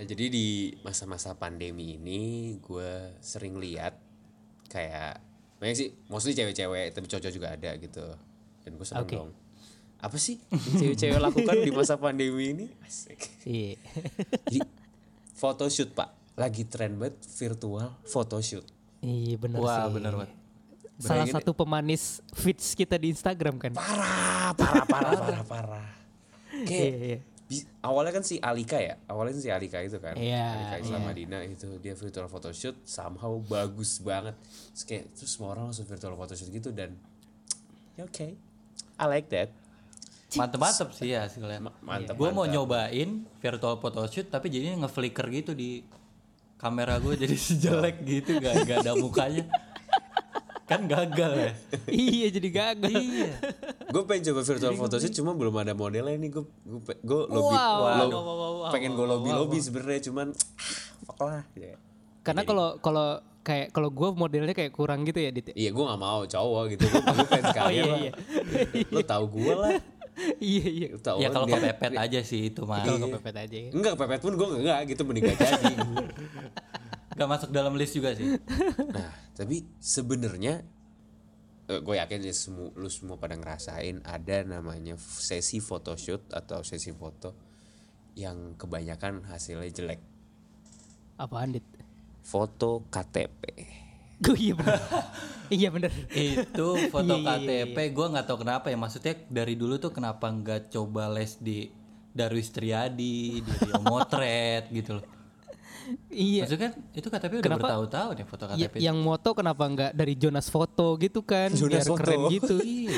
Jadi di masa-masa pandemi ini gue sering lihat kayak banyak sih, mostly cewek-cewek tapi cowok juga ada gitu. Dan gue seneng Oke. dong. Apa sih yang cewek-cewek lakukan di masa pandemi ini? Asik. Iya. Jadi photoshoot pak, lagi tren banget virtual photoshoot. Iya benar Wah, sih. benar banget. Salah Bayangin- satu pemanis feeds kita di Instagram kan. Parah. Kayak Iya. awalnya kan si Alika itu kan. Iya, Alika Islam iya. Madinah itu dia virtual photoshoot somehow bagus banget. Terus semua orang langsung virtual photoshoot gitu dan ya oke. I like that. Mantep sih ya hasilnya. Mantep. Gue mau nyobain virtual photoshoot tapi jadinya nge-flicker gitu di kamera gue jadi jelek gitu, gak ada mukanya. Kan gagal ya. Iya jadi gagal. Iya. Gue pengen coba virtual photoshoot cuma belum ada modelnya nih. Gue lobby Wow. pengen gue lobby sebenarnya cuman fuck lah. Ya. Karena kalau gue modelnya kayak kurang gitu ya Dit. Iya gue gak mau cowok gitu. Gue pengen sekali lah. Iya. Lo tau gue lah. Iya. Lo tau Ya kalau dia- kepepet aja sih itu mah. Kalau kepepet aja ya. Enggak kepepet pun gue enggak gitu, mending gak jadi. Gak masuk dalam list juga sih. Nah tapi sebenarnya gue yakin ya lu semua pada ngerasain ada namanya sesi photoshoot atau sesi foto yang kebanyakan hasilnya jelek. Apaan Dit? Foto KTP. Gue iya benar. Iya benar. Itu foto Iya. KTP gue nggak tahu kenapa ya, maksudnya dari dulu tuh kenapa nggak coba les di Darwis Triadi, di Rio Motret gitu loh. Iya. Maksudnya kan itu KTP udah Kenapa? bertahun-tahun ya foto Ya, KTP. yang moto kenapa nggak dari Jonas Foto gitu kan? Jonas Biar Foto. keren gitu. Iya.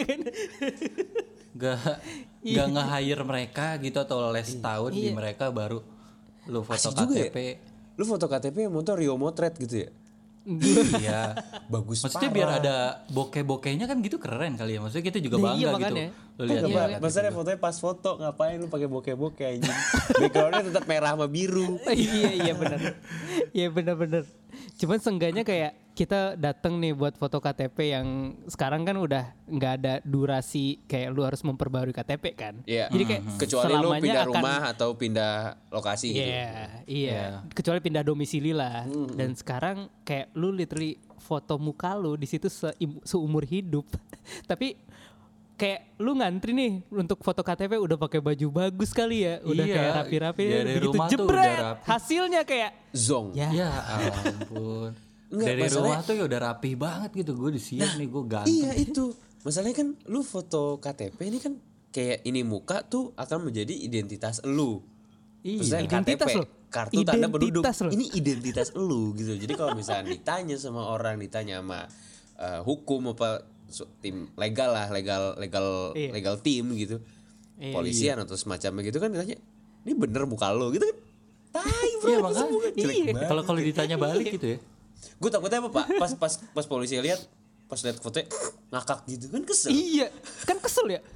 Gak nge-hire mereka gitu atau les tahun di mereka baru lu foto Asik juga ya. KTP. Lu foto KTP yang moto Rio Motret gitu ya. Iya. Bagus Maksudnya parah. biar ada bokeh-bokehnya kan gitu keren kali ya. Maksudnya kita juga Nah, bangga iya, gitu. makanya. Lu lihat Enggak, ya. Pak. Masalahnya fotonya pas foto ngapain lu pakai bokeh-bokeh anjing. Backgroundnya tetap merah sama biru. Iya benar. Iya benar. Cuman seenggaknya kayak kita datang nih buat foto KTP yang sekarang kan udah nggak ada durasi kayak lu harus memperbarui KTP kan. Iya. Jadi kayak Kecuali lu selamanya pindah akan- rumah atau pindah lokasi gitu. Iya. Kecuali pindah domisili lah. Dan sekarang kayak lu literally foto muka lu di situ seumur hidup. Tapi kayak lu ngantri nih untuk foto KTP udah pakai baju bagus kali ya, udah Iya, kayak rapi-rapi, dari begitu rumah tuh jebret udah rapi. hasilnya kayak Zong. ya. Ya ampun. Enggak, Dari masalahnya- rumah tuh ya udah rapi banget gitu. Gue di sini nih gue ganteng. Iya itu. Masalahnya kan lu foto KTP ini kan kayak ini muka tuh akan menjadi identitas lu. Maksudnya Identitas KTP, lu. kartu tanda penduduk. Identitas lu. Ini identitas lu gitu. Jadi kalau misalnya ditanya sama orang, ditanya sama hukum apa tim legal lah, Iya. legal tim gitu. Iya. Polisian atau semacamnya gitu kan ditanya, "Ini bener muka lu?" gitu kan. Tai bro, Iya, masa makanya. muka jelek Iya. banget. Kalau ditanya balik gitu ya. Gue takutnya apa Pak? Pas polisi lihat, pas lihat fotonya ngakak gitu kan kesel. Iya, kan kesel ya.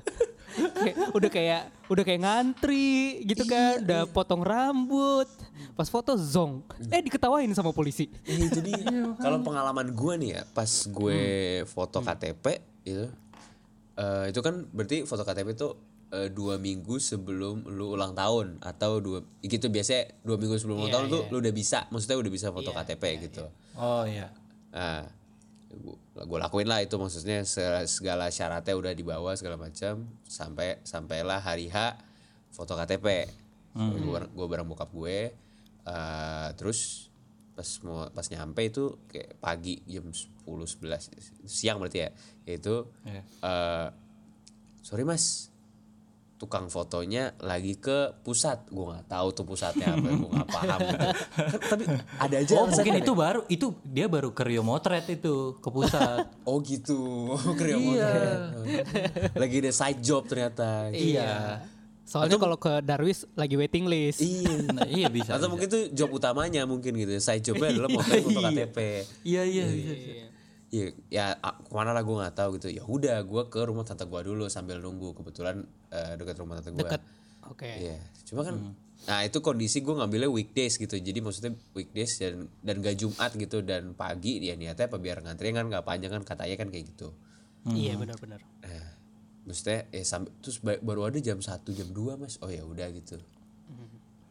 udah kayak ngantri gitu kan, udah potong rambut, pas foto zong, diketawain sama polisi. Jadi kalau pengalaman gue nih ya, pas gue foto KTP itu kan berarti foto KTP itu 2 minggu sebelum lu ulang tahun atau gitu biasanya 2 minggu sebelum ulang Iya, tahun tuh iya. lu udah bisa, maksudnya udah bisa foto KTP gitu. Oh iya. Nah, gue lakuin lah itu, maksudnya segala syaratnya udah dibawa segala macam sampailah hari H foto KTP. Gue bareng bokap gue, terus pas nyampe itu kayak pagi jam 10-11 siang berarti ya, itu sorry mas, tukang fotonya lagi ke pusat. Gue nggak tahu tuh pusatnya apa, gue nggak paham gitu. Tapi ada aja Oh alasan mungkin ada. dia baru ke Rio Motret itu ke pusat. Oh gitu. Lagi ada side job ternyata. Iya. Soalnya kalau ke Darwis lagi waiting list. Iya. Nah, iya bisa. Atau mungkin tuh job utamanya mungkin gitu. Side jobnya adalah foto KTP. Iya bisa. Iya, ya kemana lah gue nggak tahu gitu. Ya udah, gue ke rumah tante gue dulu sambil nunggu. Kebetulan dekat rumah tante gue. Deket. Oke. Iya, cuma kan, nah itu kondisi gue ngambilnya weekdays gitu. Jadi maksudnya weekdays dan gak Jumat gitu dan pagi. Ya niatnya apa biar ngantri kan nggak panjang kan, katanya kan kayak gitu. Iya benar-benar. Nah, maksudnya terus baru ada jam 1 jam 2 mas. Oh ya udah gitu.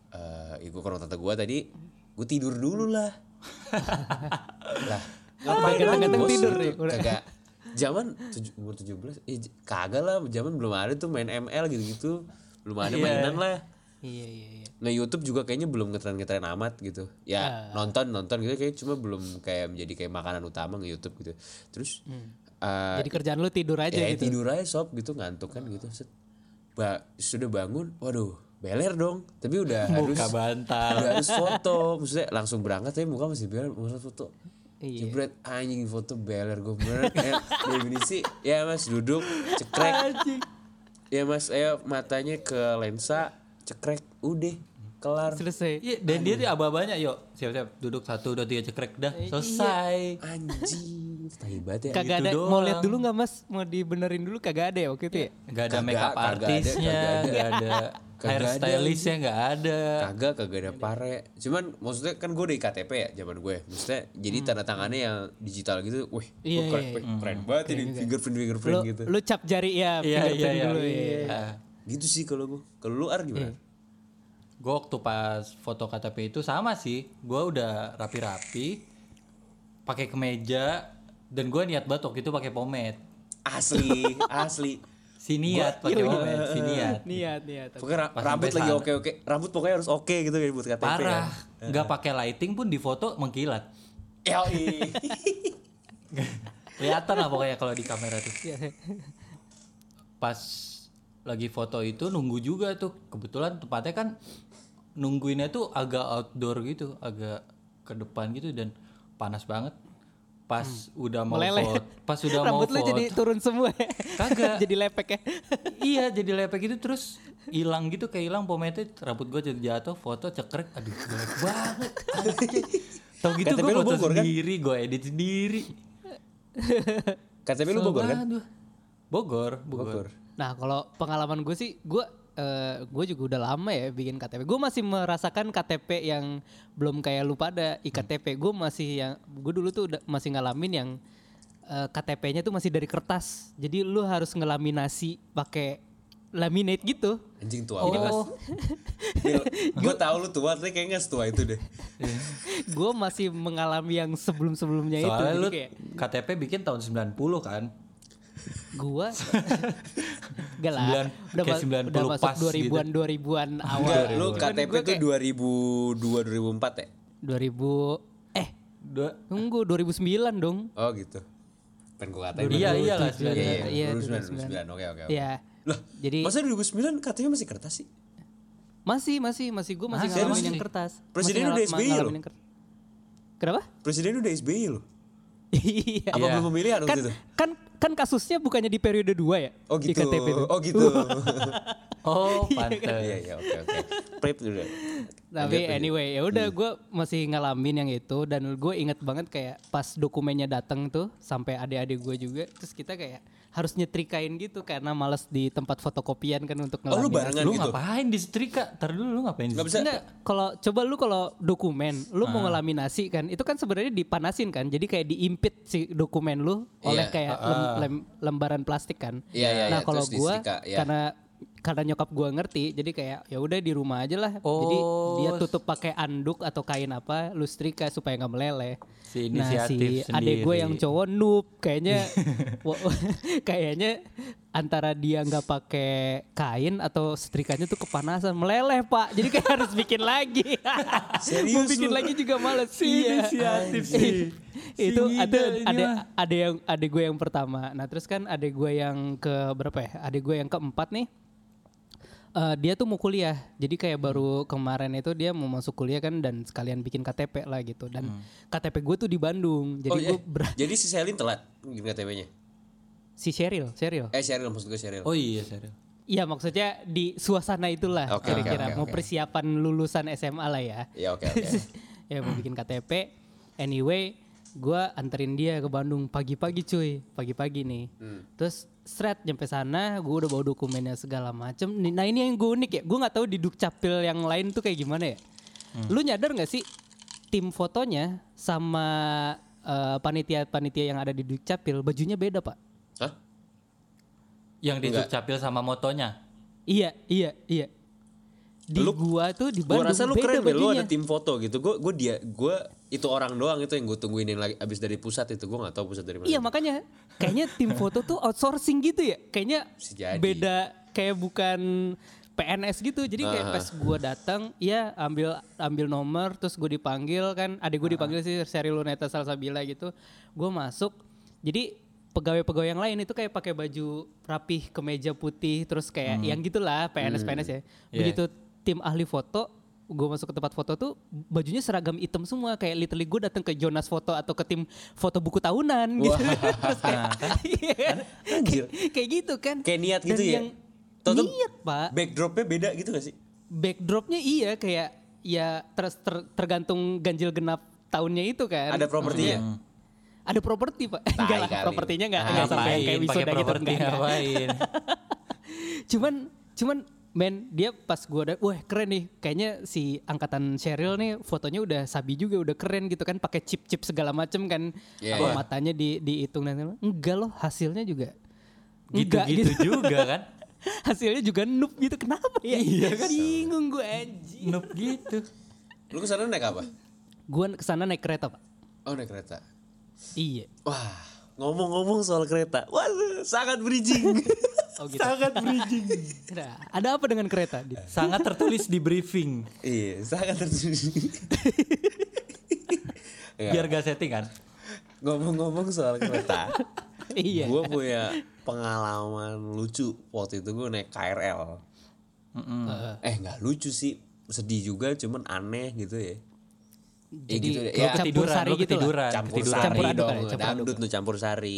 ikut ke rumah tante gue tadi, gue tidur dulu lah. Lah, Ganteng-ganteng bos? tidur nih, udah. Kagak. Zaman umur 17, kagak lah. Zaman belum ada tuh main ML gitu-gitu. Belum ada mainan lah. Iya. Nah YouTube juga kayaknya belum ngetren amat gitu. Ya nonton gitu kayak cuma belum kayak menjadi kayak makanan utama nge-YouTube gitu. Terus Jadi kerjaan lu tidur aja ya gitu. tidur aja sob gitu, ngantuk kan gitu. Sudah bangun, waduh beler dong. Tapi udah Muka bantal. udah harus foto. Maksudnya langsung berangkat tapi muka masih beler, harus foto. Iya. Jebret anjing foto beler gue bener kayak definisi. Ya mas duduk cekrek. Ya mas ayo matanya ke lensa cekrek udah kelar. Selesai. Iya, dan dia tuh aba-abanya, yuk siap-siap duduk 1, 2, 3 cekrek dah selesai. Anjing tai banget ya. Kagak ada, gitu mau doang. lihat dulu nggak mas? Mau dibenerin dulu kagak ada ya waktu itu ya? Gak ada make up Kagak ada, artisnya, kagak gak ada hairstylistnya, gak ada. Kagak ada pare. Cuman maksudnya kan gue dari KTP ya zaman gue. Maksudnya jadi tanda tangannya yang digital gitu. Wih, Iya, keren, iya, keren banget ini fingerprint gitu. Lu cap jari ya, fingerprint dulu ya. Gitu sih kalau gue. Kalau lu Ar gimana? Gue waktu pas foto KTP itu sama sih, gue udah rapi-rapi, pakai kemeja, dan gue niat banget waktu itu pakai pomade. Asli. Si niat pakai pomade, si niat. Niat. Pokoknya Pas rambut sampai lagi sana. oke. Rambut pokoknya harus oke gitu kayak buat KTP. Parah, nggak pakai lighting pun di foto mengkilat. Ya. Kelihatan lah pokoknya kalau di kamera tuh. Iya. Pas lagi foto itu nunggu juga tuh, kebetulan tempatnya kan nungguinnya tuh agak outdoor gitu, agak ke depan gitu dan panas banget. Pas udah mau Meleleh. foto, pas udah mau Rambut lu foto, jadi turun semua ya? Kagak. Jadi lepek ya? iya jadi lepek gitu terus hilang gitu, kayak hilang pomade, rambut gue jadi jatuh, foto cekrek, aduh jelek banget. Tau gitu KTP gue lu foto Bogor, kan? sendiri, gue edit sendiri. KTP lu Bogor kan? Aduh. Bogor. Nah kalau pengalaman gue sih, gue juga udah lama ya bikin KTP. Gue masih merasakan KTP yang belum kayak lu pada iktp. Gue dulu tuh masih ngalamin yang KTP-nya tuh masih dari kertas. Jadi lu harus ngelaminasi pakai laminate gitu. Anjing tua banget. Gue tahu lu tua, tapi kayaknya setua itu deh. Gue masih mengalami yang sebelum-sebelumnya itu. Soalnya Jadi lu kayak KTP bikin tahun 90 kan? gua gak lah. Kayak 90 udah masuk pas 2000-an awal. Enggak, lu Cuman KTP gua tuh kayak 2002 2004 ya? 2000 2009 dong. Oh gitu. Pengen gue katain. Iya lah. Iya, 2009. Oke. Iya. Lah, Jadi masa 2009 KTP masih kertas sih? masih gue masih ngalamin yang kertas. Presiden Masih udah SBY ngalamin loh. yang Kenapa? Presiden udah SBY loh. Iya. Apa belum pemilihan Kan, waktu itu? kan kasusnya bukannya di periode 2 ya? Oh gitu. IKTP itu. Oh gitu. Oh, pantes. Iya, oke. Prep dulu. Tapi anyway, ya udah gue masih ngalamin yang itu dan gue inget banget kayak pas dokumennya datang tuh sampai adik-adik gue juga, terus kita kayak harus nyetrikain gitu karena males di tempat fotokopian kan untuk Oh lu ngelamin. barengan Lu gitu? ngapain di setrika? Ntar dulu lu ngapain di Gak setrika? bisa. Enggak, kalau dokumen, lu mau ngelaminasi kan, itu kan sebenarnya dipanasin kan, jadi kayak diimpit si dokumen lu oleh Iya. kayak lembaran plastik kan. Iya, Nah kalau terus gue disetrika, iya. karena nyokap gue ngerti, jadi kayak ya udah di rumah aja lah. Jadi dia tutup pakai anduk atau kain apa, lu setrika supaya nggak meleleh. Si Nah inisiatif si adek gue sendiri. yang cowok noob kayaknya kayaknya antara dia nggak pakai kain atau setrikanya tuh kepanasan meleleh pak, jadi kayak harus bikin lagi. Serius Mau bikin lu? lagi juga males. inisiatif sih. Itu Si ngide ini mah. ada gue yang pertama. Nah terus kan ada gue yang ke berapa ya? Ada gue yang keempat nih. Dia tuh mau kuliah, jadi kayak baru kemarin itu dia mau masuk kuliah kan dan sekalian bikin KTP lah gitu. Dan KTP gue tuh di Bandung, jadi Oh iya. gue Jadi si Selin telat bikin KTP-nya. si Cheryl. Cheryl maksud gue Cheryl. Oh iya, serius. Iya maksudnya di suasana itulah Oke, kira-kira oke. mau persiapan lulusan SMA lah ya. Iya oke. Ya mau bikin KTP. Anyway, gue anterin dia ke Bandung pagi-pagi cuy, pagi-pagi nih. Terus seret nyampe sana, gue udah bawa dokumennya segala macem. Nah ini yang gue unik ya, gue nggak tahu di Dukcapil yang lain tuh kayak gimana ya. Lu nyadar nggak sih tim fotonya sama panitia-panitia yang ada di Dukcapil bajunya beda pak? Hah? Yang di Dukcapil sama motonya. Iya. di gua tuh di Gue Bandung rasa lu beda keren, Bel. Lu bajunya. ada tim foto gitu. Gue itu orang doang itu yang gue tungguin yang lagi abis dari pusat itu. Gue nggak tahu pusat dari mana. Iya makanya kayaknya tim foto tuh outsourcing gitu ya. Kayaknya Bisa jadi. beda, kayak bukan PNS gitu. Jadi kayak pas gue datang, ya ambil nomor, terus gue dipanggil kan. Adik gue dipanggil sih, Sheryl Luneta Salsabila gitu. Gue masuk. Jadi pegawai-pegawai yang lain itu kayak pakai baju rapih, kemeja putih, terus kayak yang gitulah PNS ya. Begitu tim ahli foto, gue masuk ke tempat foto tuh bajunya seragam hitam semua, kayak literally gue datang ke Jonas Foto atau ke tim foto buku tahunan gitu. Terus kayak, kayak gitu kan. Kayak niat gitu Dan ya? yang Tahu-tahu niat pak. Backdropnya beda gitu gak sih? Backdropnya iya kayak ya tergantung ganjil genap tahunnya itu kan. Ada propertinya? Ada properti pak. Enggak lah, kali. propertinya enggak sampai yang kayak Ngapain pakai wisuda gitu. properti enggak. ngapain? Cuman men, dia pas gue udah, wah keren nih, kayaknya si angkatan Sheryl nih fotonya udah sabi juga, udah keren gitu kan, pakai chip segala macem kan, Yeah. matanya dihitung dan enggak loh, hasilnya juga Gitu-gitu juga kan? hasilnya juga noob gitu, kenapa ya? Iya kan? Bingung gue anjing. Noob gitu. Lu kesana naik apa? Gue kesana naik kereta pak. Oh naik kereta. Iya. Wah ngomong-ngomong soal kereta. Wah sangat bridging. Oh gitu. Sangat bridging. Nah, ada apa dengan kereta? Sangat tertulis di briefing. Iya sangat terjadi. Biar gak setting kan? Ngomong-ngomong soal kereta. Iya. Gue punya pengalaman lucu waktu itu gue naik KRL. Nggak lucu sih, sedih juga, cuman aneh gitu ya. Jadi gitu deh. Lu Ya, campur ketiduran, sari lu gitu lah. ketiduran. campur ketiduran. sari Campur aduk dong, kali, campur dangdut tuh campur sari.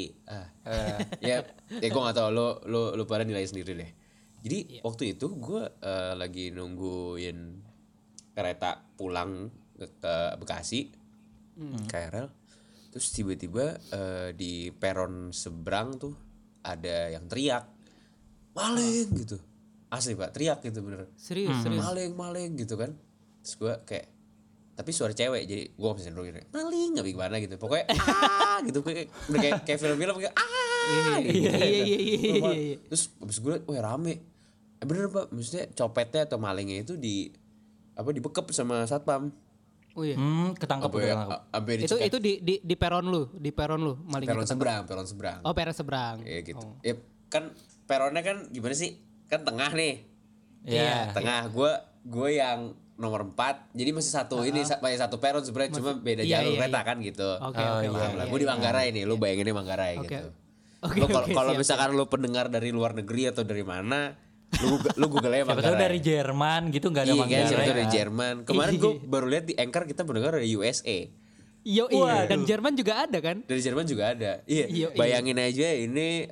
Ya gue nggak tahu, lu pada nilai sendiri deh. Jadi waktu itu gue lagi nungguin kereta pulang ke Bekasi, KRL. Terus tiba-tiba di peron seberang tuh ada yang teriak, maling gitu. Asli pak, teriak gitu bener. Serius. Maling gitu kan. Terus gue kayak, tapi suara cewek, jadi gue gak bisa nungguin maling nggak gimana gitu, pokoknya gitu, kayak film-film kayak gitu. Iya. Terus abis gue liat, wah rame, bener pak, maksudnya copetnya atau malingnya itu dibekep sama satpam. Oh iya. Ketangkep udah ketangkep. Sampai Itu di peron lu malingnya peron ketangkep. seberang. Oh, peron seberang. Ya gitu. Ya kan peronnya kan gimana sih? Kan tengah nih. Iya. Tengah gue yang nomor 4. Jadi masih satu ini masih satu peron sebenarnya, cuma beda jalur kereta kan gitu. Oke. Paham lah. Gue di Manggarai nih, lu bayanginnya Manggarai Oke. gitu. Oke, Lu oke, kalau siap, misalkan lu pendengar dari luar negeri atau dari mana, lu Google aja Siapa tahu Manggarai. dari Jerman gitu nggak ada Iya kan, Manggarai. siapa tahu dari kan? Jerman. Kemarin gue baru lihat di Anchor kita pendengar dari USA. Yo iya, dan Jerman juga ada kan? Dari Jerman juga ada. Iya. Iya. Bayangin aja ini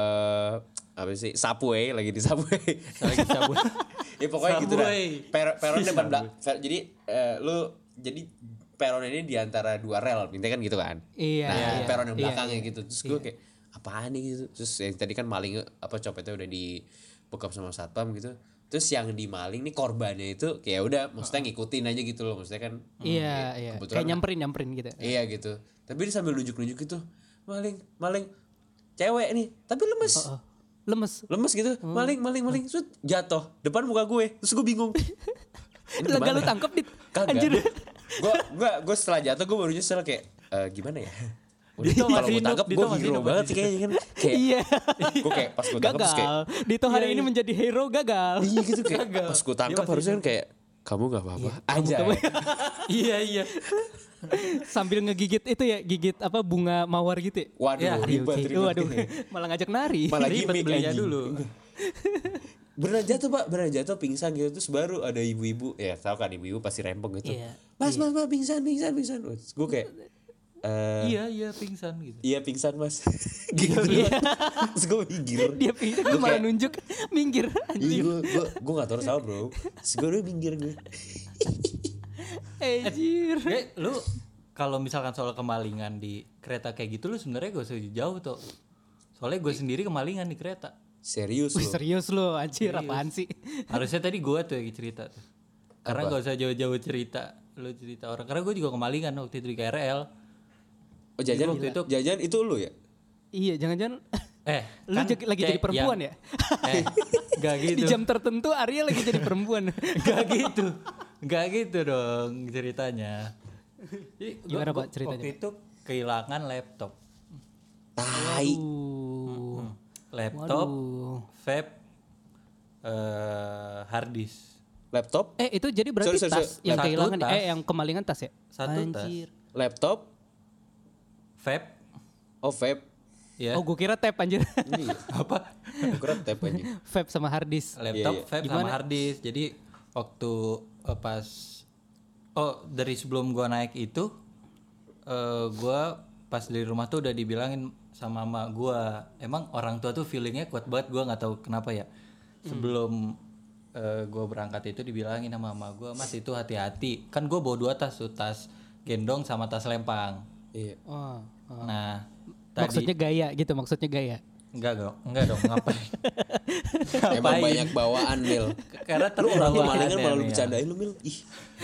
apa sih? Subway lagi di Subway. Lagi sabun. Ya pokoknya gitu dah. Subway. Peron depan belakang. Jadi jadi peron ini di antara dua rel, intinya kan gitu kan. Iya, Nah, iya, peron yang iya, belakangnya gitu. Terus gue kayak apaan nih gitu. Terus yang tadi kan maling copetnya udah dibekap sama satpam gitu. Terus yang dimaling nih korbannya itu kayak udah maksudnya ngikutin aja gitu loh. Maksudnya kan Iya. kebetulan Kayak nyamperin gitu. iya gitu. Tapi dia sambil nunjuk-nunjuk gitu. Maling. Cewek nih, tapi lemes. Lemes. Gitu. Maling. Terus jatuh depan muka gue. Terus gue bingung. Ini Lega lu gimana? tangkep dit. Kagak. Anjir. Gue setelah jatuh gue baru nyesel kayak gimana ya? Dito Kalau masih gue tangkap hidup, gue Dito masih hero hidup. banget sih kayaknya kan. Kayak Iya. gue kayak pas gue tangkap terus kayak Gagal. Dito hari ini menjadi hero gagal. iya gitu kayak pas gue tangkap harusnya kan kayak kamu gak apa-apa aja. Iya. Sambil ngegigit itu ya, gigit apa bunga mawar gitu ya. Waduh Ya, ribet. Waduh, malah ngajak nari. Malah Ribet gimmick belinya anjing. dulu. Beneran jatuh pak, pingsan gitu. Terus baru ada ibu-ibu, ya tahu kan ibu-ibu pasti rempong gitu. Iya. Mas pingsan. Gue kayak Iya pingsan gitu. iya pingsan mas. Gitu. Terus gue minggir. Dia pingsan, gue malah nunjuk minggir. Iya gue gak tau salah bro. Terus gue udah minggir gue. Anjir. Lu kalau misalkan soal kemalingan di kereta kayak gitu lu sebenarnya gak usah jauh tuh. Soalnya gue sendiri kemalingan di kereta. Serius Wih, loh. serius lo, anjir apaan sih? Harusnya tadi gue tuh yang cerita tuh. Karena gak usah jauh-jauh cerita. Lu cerita orang. Karena gue juga kemalingan waktu itu di KRL. Oh jajan Waktu itu- itu lu ya? Iya, jangan-jangan Lu kan lagi jadi kayak perempuan ya? Gak gitu. Di jam tertentu Arya lagi jadi perempuan. Gak gitu dong ceritanya. Jadi Gimana, Pak, ceritanya, Waktu itu kehilangan laptop. Tai. Laptop, Waduh. vape, hard disk. Laptop, Itu jadi berarti Sorry. tas yang Satu kehilangan tas. yang kemalingan tas ya? Satu tas. Anjir. laptop, Vape, vape. ya. Oh, gue kira tab anjir. Apa? Keren tap aja. Vape sama hard disk. Laptop, Iya. vape sama hard disk. Jadi waktu pas dari sebelum gua naik itu gua pas dari rumah tuh udah dibilangin sama emak gua, emang orang tua tuh feelingnya kuat banget, gua nggak tahu kenapa ya. Sebelum gua berangkat itu dibilangin sama emak gua, Mas itu hati-hati, kan gua bawa 2 tas tuh, tas gendong sama tas lempang. Iya. Oh. Nah Maksudnya gaya gitu, maksudnya gaya. enggak dong ngapain. Emang banyak bawaan Mil. Karena Lu orang terlalu kemalingan aneh malah lu nih ya. bercandain lu Mil. Ih.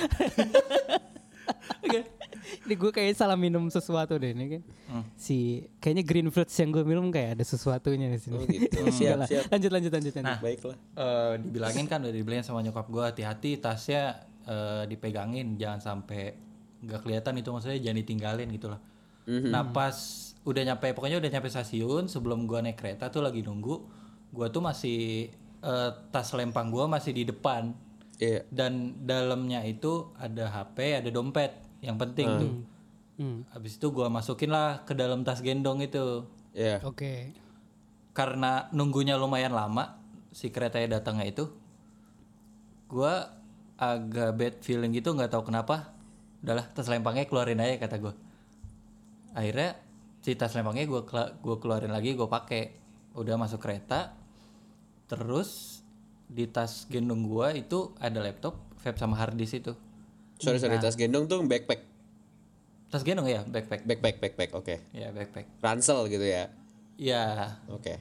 Ini gue kayak salah minum sesuatu deh ini kan. Si kayaknya green fruits yang gue minum kayak ada sesuatunya di sini. Oh gitu. Enggak Siap, lah. siap. Lanjut. Baiklah. Dibilangin kan, udah dibilangin sama nyokap gue, hati-hati tasnya dipegangin, jangan sampai nggak kelihatan, itu maksudnya jangan ditinggalin gitu lah. Nah pas pokoknya udah nyampe stasiun, sebelum gue naik kereta tuh lagi nunggu, gue tuh masih tas lempang gue masih di depan. Iya. Dan dalamnya itu ada HP, ada dompet yang penting tuh. Habis itu gue masukin lah ke dalam tas gendong itu. Iya. Oke. Karena nunggunya lumayan lama, si keretanya datangnya itu, gue agak bad feeling gitu, nggak tahu kenapa. Udahlah, tas lempangnya keluarin aja kata gue. Akhirnya si tas lempangnya gue keluarin lagi, gue pakai. Udah masuk kereta, terus di tas gendong gue itu ada laptop, vape sama hard disk itu. Sorry, tas gendong tuh backpack. Tas gendong ya, backpack. Backpack, oke. Ya backpack. Ransel gitu ya. Ya. Oke.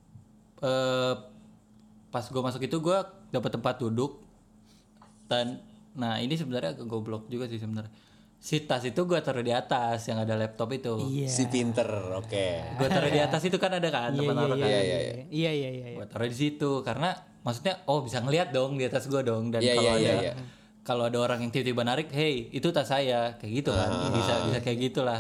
Pas gue masuk itu gue dapet tempat duduk, dan nah ini sebenarnya agak goblok juga sih sebenarnya. Si tas itu gue taruh di atas yang ada laptop itu. Iya. Si pinter, oke. Gue taruh di atas itu kan ada kan tempat taruh kan. Iya. Gue taruh di situ karena maksudnya bisa ngeliat dong di atas gue dong, dan Iya, kalau iya, ada iya. kalau ada orang yang tiba-tiba narik, hey itu tas saya, kayak gitu kan, bisa kayak gitulah.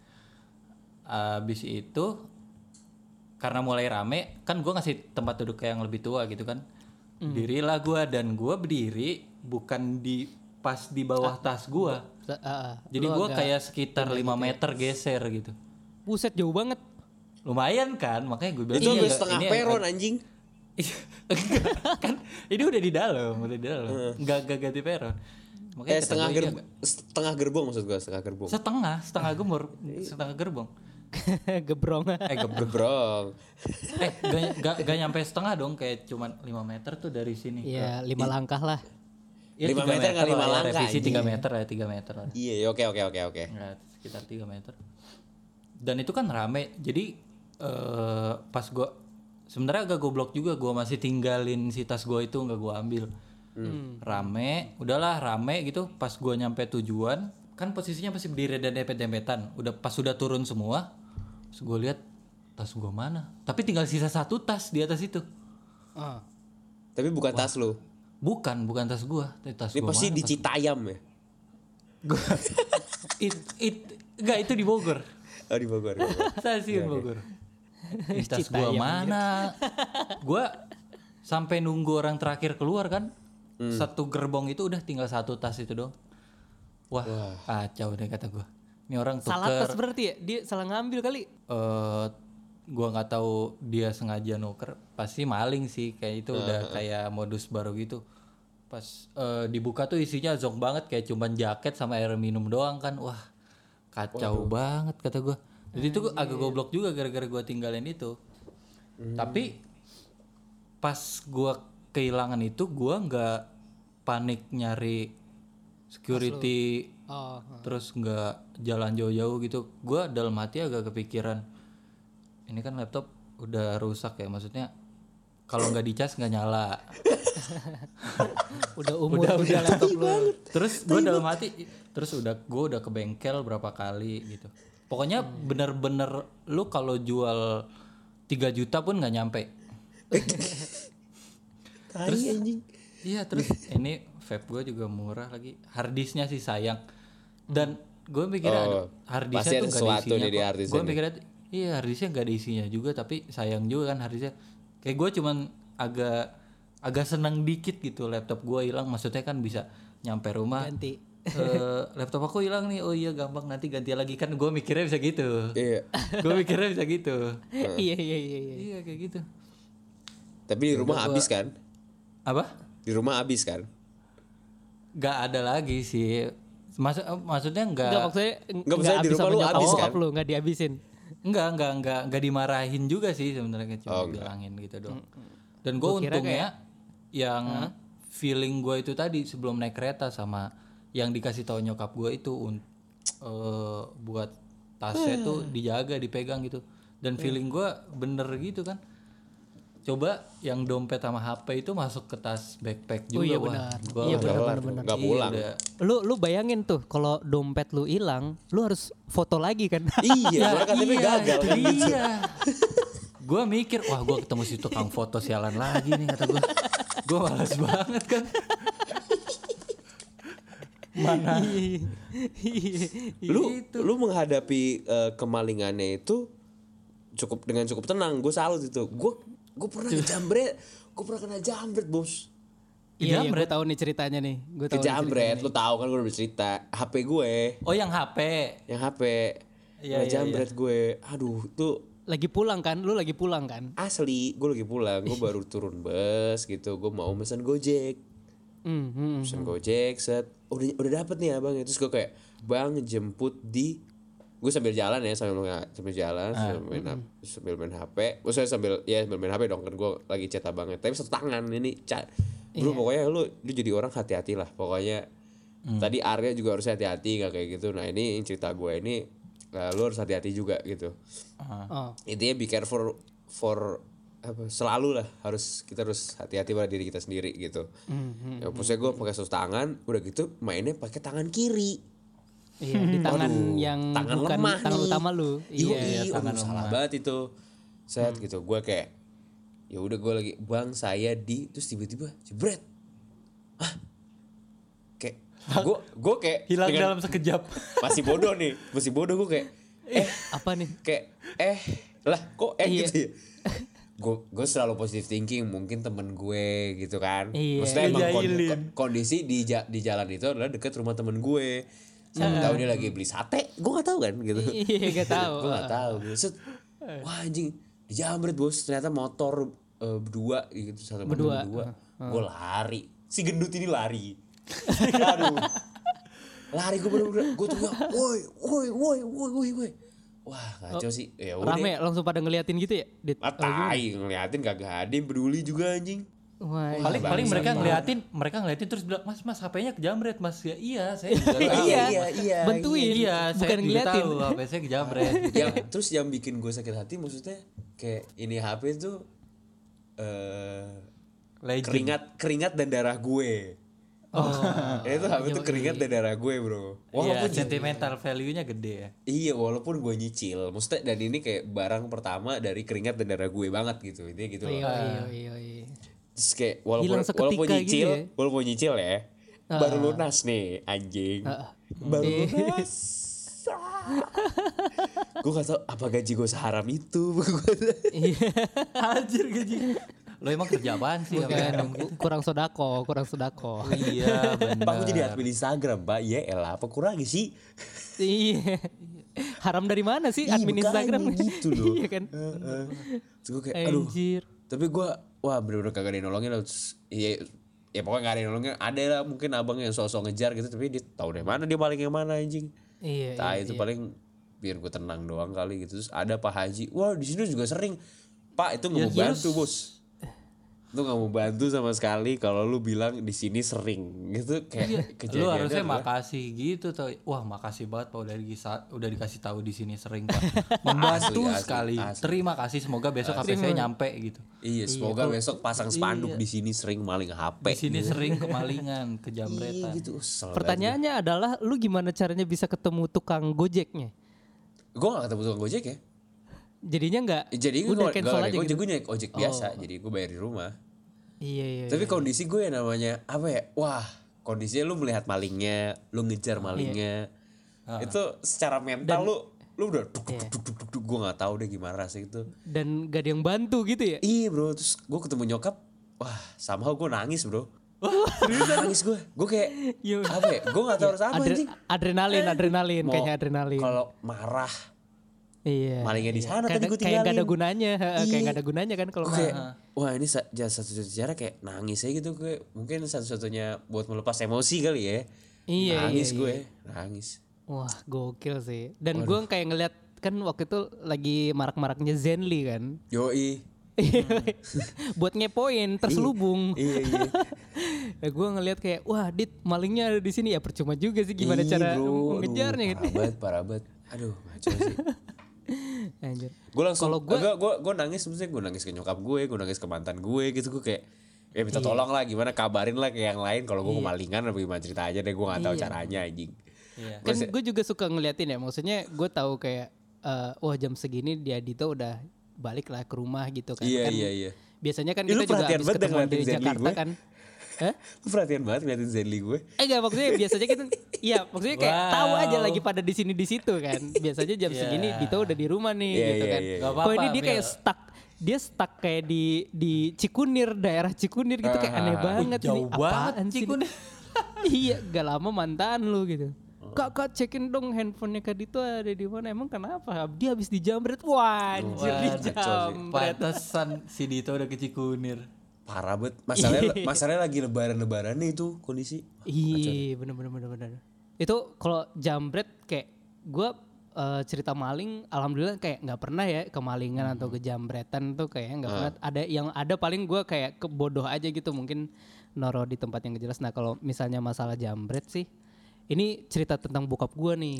Abis itu karena mulai rame kan, gue ngasih tempat duduk ke yang lebih tua gitu kan. Dirilah gue, dan gue berdiri bukan pas di bawah tas gue. Jadi gue kayak sekitar 5 meter geser gitu. Buset, jauh banget. Lumayan kan, makanya gue bilang Itu ini udah agak- setengah ini peron anjing. Enggak, kan ini udah di dalam. Enggak ganti peron. Makanya kata Setengah gue, ini agak- setengah gerbong maksud gua, setengah gerbong. setengah gemur, setengah gerbong. Gebrong. Gebrong. Gak nyampe setengah dong, kayak cuman 5 meter tuh dari sini. Iya, 5 langkah lah. Ya, 5 3 meter nggak 5 lah ya, langkah, revisi anjing. 3 meter ya, 3 meter lah. Iya, oke. Ya, sekitar 3 meter. Dan itu kan rame. Jadi pas gua sebenarnya agak goblok juga, gua masih tinggalin si tas gua itu, nggak gua ambil. Rame, udahlah rame gitu. Pas gua nyampe tujuan, kan posisinya masih berdiri dan dempet-dempetan. Pas udah turun semua, terus gua lihat tas gua mana. Tapi tinggal sisa 1 tas di atas itu. Tapi bukan tas lu. Bukan tas gua. Tas Ini gua pasti mana? di Citayam ya. Enggak, itu di Bogor. Oh di Bogor. Stasiun Bogor. Tas gua mana? Gua sampai nunggu orang terakhir keluar kan. Satu gerbong itu udah tinggal 1 tas itu dong. Wah, kacau deh kata gua. Ini orang Salah tuker. tas berarti ya? Dia salah ngambil kali. Gua nggak tahu dia sengaja nuker. Pasti maling sih, kayak itu udah kayak modus baru gitu. Pas dibuka tuh isinya zonk banget, kayak cuman jaket sama air minum doang kan. Wah, kacau banget kata gua. Jadi itu agak goblok juga gara-gara gua tinggalin itu. Tapi pas gua kehilangan itu, gua nggak panik nyari security, terus nggak jalan jauh-jauh gitu. Gua dalam hati agak kepikiran, ini kan laptop udah rusak ya, maksudnya kalau nggak dicas nggak nyala. Udah umur juga laptop lu. Terus gue dalam hati, gue udah ke bengkel berapa kali gitu. Pokoknya bener-bener lu kalau jual 3 juta pun nggak nyampe. Terus anjing. Iya terus ini vape gue juga murah lagi. Harddisknya sih sayang. Dan gue mikirnya aduh, pasti harddisknya ada tuh gak ada sesuatu isinya nih di kok. harddisknya Gue nih. mikirnya iya harddisknya gak ada isinya juga, tapi sayang juga kan harddisknya. Kayak gue cuman agak senang dikit gitu laptop gue hilang. Maksudnya kan bisa nyampe rumah. Ganti. Laptop aku hilang nih, oh iya gampang nanti ganti lagi, kan gue mikirnya bisa gitu. Iya. Gue mikirnya bisa gitu. Iya. Iya kayak gitu. Tapi di rumah habis kan? Apa? Di rumah habis kan? Gak ada lagi sih. Maksudnya Enggak nggak maksudnya Nggak, maksudnya di habis rumah sama lu nyokap habis bokap kan? lu enggak dihabisin. Enggak dimarahin juga sih sebenarnya, cuma bilangin gitu doang. Dan gue untungnya yang feeling gue itu tadi sebelum naik kereta sama yang dikasih tahu nyokap gue itu buat tasnya tuh dijaga, dipegang gitu. Dan feeling gue bener gitu kan. Coba yang dompet sama HP itu masuk ke tas backpack juga. Oh iya wah, benar. gua Iya udah- benar. Nggak pulang. Iya, Lu bayangin tuh kalau dompet lu hilang, lu harus foto lagi kan? Iya, soalnya KTP gagal itu kan gitu. dia. Gue mikir, wah gue ketemu si tukang foto sialan lagi nih kata gue. Gue malas banget kan. Mana? Lu menghadapi kemalingannya itu cukup tenang. Gue salut itu. Gue pernah kejamret. Gue pernah kena jambret, Bos. Iya, gue tahu nih ceritanya nih. Gue tahu. Kejamret, lu tahu kan gue udah bercerita. HP gue, Oh yang HP. yang HP. Iya, Kena jambret gue. Aduh, itu Lagi pulang kan? Lu lagi pulang kan? asli. Gue lagi pulang, gue baru turun bus gitu. Gue mau pesan Gojek. Pesan Gojek, set. Udah dapet nih abang. Terus gue kayak, bang jemput di, gue sambil jalan ya, sambil jalan, sambil main HP. Maksudnya sambil main HP dong, kan gue lagi chat abangnya. Tapi satu tangan ini, bro pokoknya lu jadi orang hati-hati lah. Pokoknya tadi Arya juga harus hati-hati, nggak kayak gitu. Nah ini cerita gue ini, lu harus hati-hati juga gitu. Oh. Intinya be careful for apa, selalu lah kita harus hati-hati pada diri kita sendiri gitu. Ya maksudnya gue pakai satu tangan, udah gitu mainnya pakai tangan kiri. Iya, di tangan yang Tangan bukan lemah tangan nih. utama lu. Iya, tangan salah banget itu. Set gitu, gue kayak ya udah gue lagi bang saya di, terus tiba-tiba jebret. Kayak gue kayak Hilang dengan- dalam sekejap. masih bodoh gue kayak Apa nih? kayak lah kok Iya. gitu ya. Gue selalu positive thinking, mungkin temen gue gitu kan. Iya. Maksudnya emang Ngejailin. kondisi di jalan itu adalah dekat rumah temen gue. Siapa tahu dia lagi beli sate, gue nggak tahu kan gitu. Iya, gak tahu. Gue nggak tahu. Set, wah anjing dijamret bos, ternyata motor berdua gitu, satu berdua. Gue lari, si gendut ini lari. Aduh, lari gue bener-bener, gue tuh woi. Wah ngaco sih. Ya udah. Rame langsung pada ngeliatin gitu ya? Dit? Matai ngeliatin kagak ada yang peduli juga anjing. Wah, Paling mereka ngeliatin terus bilang, mas HP-nya kejamret mas. Ya iya saya juga tahu. iya. Bantuin. Iya bukan saya juga ngeliatin. tahu HP saya kejamret. Terus yang bikin gue sakit hati maksudnya kayak ini HP tuh Legend. keringat dan darah gue. Itu HP tuh keringat dan darah gue bro. Iya sentimental value-nya gede ya. Iya walaupun gue nyicil, maksudnya dan ini kayak barang pertama dari keringat dan darah gue banget gitu, intinya gitu loh. Iya. Terus kayak Hilang seketika gitu ya. walaupun nyicil ya, baru lunas nih anjing, baru lunas. Gue gak tau apa gaji gue seharam itu. Anjir gaji. Lo emang kerja apaan sih? Kurang sodako. Iya benar. Pak gue jadi admin Instagram pak, ya elah apa kurangnya sih? Iya. Haram dari mana sih admin Makanya Instagram? gitu loh. Iya kan? Terus gue kayak aduh. Anjir. Tapi gue wah bener-bener kagak ada yang nolongin lah. Terus, ya pokoknya gak ada yang nolongin. Ada lah mungkin abang yang sosok ngejar gitu, tapi dia tahu deh mana dia paling yang mana anjing. Iya. Itu paling biar gue tenang doang kali gitu. Terus ada Pak Haji, wah di sini juga sering. Pak itu nggak mau bantu bos. Lu nggak mau bantu sama sekali kalau lu bilang di sini sering gitu kayak kejadiannya. Lu harusnya adalah- makasih gitu tuh. Wah makasih banget Pak udah dikasih tahu di sini sering Pak. Membantu Asli, sekali. asli. Terima kasih, semoga besok HP saya nyampe gitu. Iya, semoga besok pasang spanduk di sini sering maling HP. Di sini sering kemalingan, kejamretan. Iya gitu. Pertanyaannya adalah lu gimana caranya bisa ketemu tukang Gojeknya? Gue gak ketemu tukang Gojek ya. Jadinya nggak Jadi gue udah nggak cancel aja naik gitu. gue naik ojek biasa, jadi gue bayar di rumah. Iya. Tapi kondisi gue yang namanya apa ya? Wah, kondisinya lu melihat malingnya, lu ngejar malingnya. Itu secara mental lu udah duk, gue nggak tahu deh gimana rasanya itu. Dan gak ada yang bantu gitu ya. Iya bro, terus gue ketemu nyokap, wah somehow gue nangis bro. Nangis gue kayak apa ya? Gue nggak tahu harus apa anjing. Adrenalin Mau- kayaknya adrenalin. Kalau marah, Iya. malingnya di sana tadi gue Kayak gak ada tinggalin. gunanya, kayak Iya. gak ada gunanya kan kalau Gue kayak, wah ini satu-satunya cara kayak nangis aja gitu gue. Mungkin satu-satunya buat melepas emosi kali ya. Iya, Nangis iya, gue, nangis. Wah, gokil sih. Dan gue kayak ngeliat kan waktu itu lagi marak-maraknya Zenly kan. Yoi. Buat ngepoin terselubung. Iya. Ya, gue ngeliat kayak wah Dit malingnya ada di sini ya percuma juga sih gimana Ih, cara bro. mengejarnya Aduh, gitu. parah banget. Aduh, ngaco sih. Anjir. Gue langsung Kalau gue nangis, maksudnya gue nangis ke nyokap gue nangis ke mantan gue gitu. Gue kayak ya minta tolong lah, gimana kabarin lah ke yang lain kalau gue kemalingan apa gimana cerita aja deh, gue nggak tahu caranya anjing. Iya. Kan gue juga suka ngeliatin ya, maksudnya gue tahu kayak wah jam segini dia Dito udah balik lah ke rumah gitu kan. Iya, Kan iya. Biasanya kan Ih, lu kita juga perhatian habis banget ketemuan ngeliatin di Zenly Jakarta gue. kan. Hah? Lu perhatian banget ngeliatin Zenly gue. Enggak, maksudnya biasanya kita iya maksudnya kayak tahu aja lagi pada di sini di situ kan. Biasanya jam segini Dito udah di rumah nih Iya, gitu iya, kan. iya. Gak Kok apa-apa, ini dia kayak Mil. stuck. Dia stuck kayak di Cikunir, daerah Cikunir gitu kayak aneh banget Jauh ini. banget Apaan sih ini? Cikunir. Iya, gak lama mantan lu gitu. Kak cekin dong handphonenya Kak Dito ada di mana? Emang kenapa? Dia habis dijamret. Wah, anjir dijamret. Pantesan si Dito udah ke Cikunir. Parah banget. Masalahnya lagi lebaran nih itu kondisi. Iya, bener. Itu kalau jambret kayak gue cerita maling, alhamdulillah kayak nggak pernah ya kemalingan atau kejambretan tuh kayak nggak pernah. Ada yang ada paling gue kayak kebodoh aja gitu mungkin noro di tempat yang gak jelas. Nah kalau misalnya masalah jambret sih, ini cerita tentang bokap gue nih.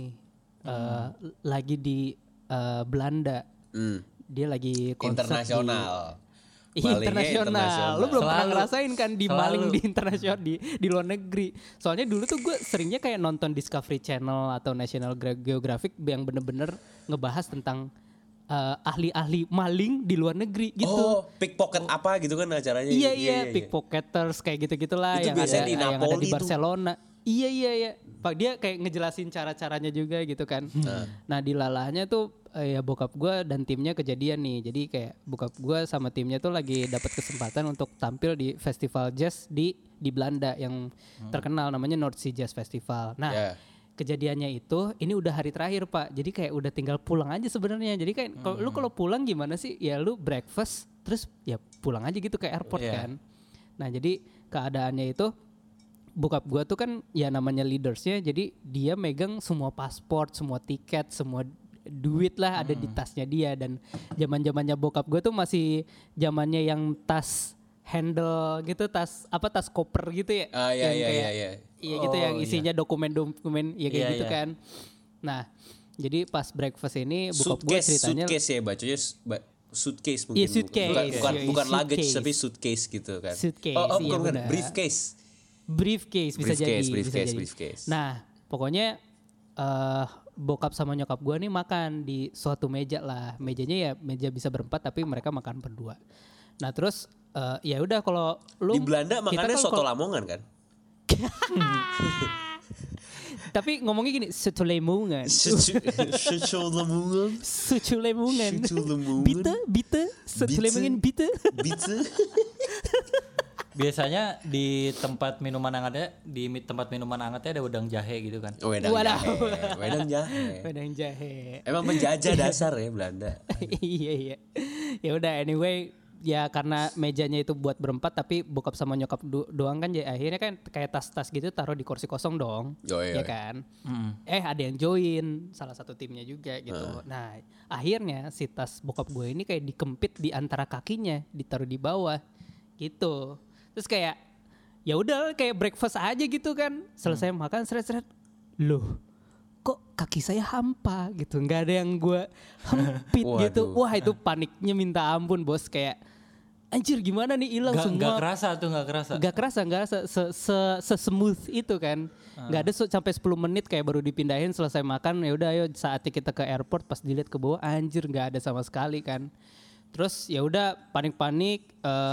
Lagi di Belanda, dia lagi konsert Internasional. internasional. Lu belum pernah Selalu. ngerasain kan di maling Selalu. di internasional di luar negeri. Soalnya dulu tuh gue seringnya kayak nonton Discovery Channel atau National Geographic yang bener-bener ngebahas tentang ahli-ahli maling di luar negeri gitu. Oh, pickpocket apa gitu kan acaranya. Iya, pickpocketers kayak gitu-gitulah Itu yang biasanya ada di yang ada Napoli di tuh. Barcelona. Iya. Pak dia kayak ngejelasin cara-caranya juga gitu kan. Nah, di lalahnya tuh ya bokap gue dan timnya kejadian nih. Jadi kayak bokap gue sama timnya tuh lagi dapat kesempatan untuk tampil di festival jazz di Belanda yang terkenal namanya North Sea Jazz Festival. Nah, Yeah. kejadiannya itu ini udah hari terakhir Pak. Jadi kayak udah tinggal pulang aja sebenarnya. Jadi kayak kalau pulang gimana sih? Ya lu breakfast terus ya pulang aja gitu ke airport Iya. kan. Nah, jadi keadaannya itu bokap gua tuh kan ya namanya leadersnya, jadi dia megang semua paspor, semua tiket, semua duit lah ada di tasnya dia. Dan zaman-zamannya bokap gua tuh masih zamannya yang tas handle gitu, tas koper gitu ya. Ah, iya, Yang iya, kayak- iya. Iya gitu yang isinya dokumen-dokumen ya kayak Iya, gitu iya. kan. Nah, jadi pas breakfast ini bokap gua ceritanya Suitcase ya bacanya suitcase mungkin. Iya, suitcase. Bukan Iya, bukan luggage suitcase. tapi suitcase gitu kan. Suitcase, Oh, iya bukan benar. briefcase. briefcase bisa jadi. Briefcase. Nah, pokoknya bokap sama nyokap gua nih makan di suatu meja lah. Mejanya ya meja bisa berempat tapi mereka makan berdua. Nah, terus ya udah kalau lu Di Belanda kita makannya kan soto kalau- Lamongan kan? Tapi ngomongnya gini, soto Lamongan. Soto Lamongan. Soto Lamongan. Soto Lamongan. Bite, soto Bite. Lamongan bite. Bisa. Biasanya di tempat minuman hangatnya ada udang jahe gitu kan. Wedang Waduh. jahe. Wedang jahe. Wedang jahe. Emang penjajah dasar ya Belanda. Iya. Ya udah anyway, ya karena mejanya itu buat berempat tapi bokap sama nyokap doang kan ya akhirnya kan kayak tas-tas gitu taruh di kursi kosong dong. Yoi. Ya kan? Ada yang join salah satu timnya juga gitu. Nah, akhirnya si tas bokap gue ini kayak dikempit di antara kakinya, ditaruh di bawah gitu. Terus kayak ya udah kayak breakfast aja gitu kan. Selesai makan seret-seret. Loh, kok kaki saya hampa gitu, nggak ada yang gue hempit gitu. Waduh. Wah itu paniknya minta ampun bos, kayak anjir gimana nih hilang Nggak semua. kerasa. Gak kerasa se-smooth itu kan. Gak ada sampai 10 menit kayak baru dipindahin selesai makan, ya udah ayo saatnya kita ke airport, pas dilihat ke bawah anjir gak ada sama sekali kan. Terus ya udah panik-panik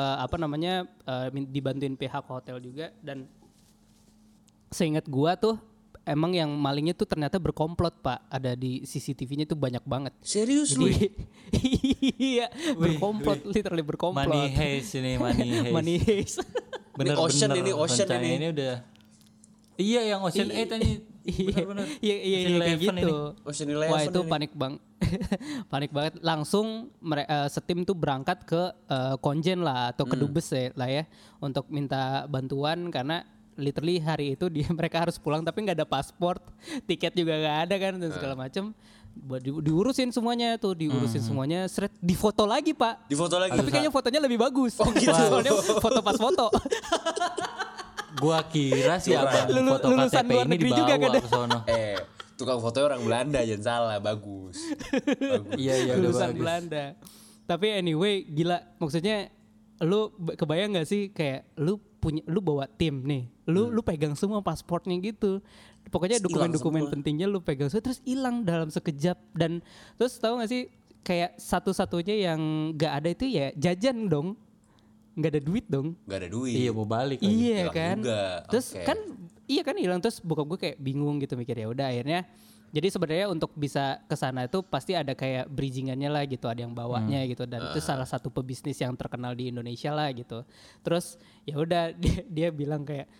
dibantuin pihak hotel juga, dan seingat gua tuh emang yang malingnya tuh ternyata berkomplot Pak, ada di CCTV-nya tuh banyak banget. Serius lu? Jadi iya berkomplot, literally berkomplot. Money heist ini, money heist. Money heist. Ocean ini Rencana ini. ini udah. Iya yang Ocean 8 tadi. Bener-bener. Iya kayak gitu. Ocean Eleven Wah itu ini. panik banget. Langsung setim tuh berangkat ke Konjen lah atau ke Dubes lah ya untuk minta bantuan, karena literally hari itu mereka harus pulang tapi nggak ada paspor, tiket juga nggak ada kan, dan segala macem. Diurusin semuanya tuh, semuanya, seret difoto lagi Pak. Difoto lagi. Tapi kayaknya fotonya lebih bagus. Oh, gitu. Soalnya foto pas foto. Gua kira sih abang foto Lulusan KTP luar ini negeri dibawa juga kan? ke sono. Tukang fotonya orang Belanda, jangan salah, bagus. Iya udah Lulusan bagus. Belanda. Tapi anyway gila, maksudnya lu kebayang gak sih kayak lu bawa tim nih, lu pegang semua pasportnya gitu, pokoknya dokumen-dokumen pentingnya lu pegang semua, terus hilang dalam sekejap. Dan terus tahu gak sih kayak satu-satunya yang gak ada itu ya jajan dong, nggak ada duit dong. Gak ada duit. Iya mau balik lagi. Iya hilang kan. juga. Terus Oke. kan iya kan hilang, terus bokap gue kayak bingung gitu mikir, ya udah akhirnya. Jadi sebenarnya untuk bisa ke sana itu pasti ada kayak bridgingannya lah gitu, ada yang bawanya gitu, dan itu salah satu pebisnis yang terkenal di Indonesia lah gitu. Terus ya udah dia bilang kayak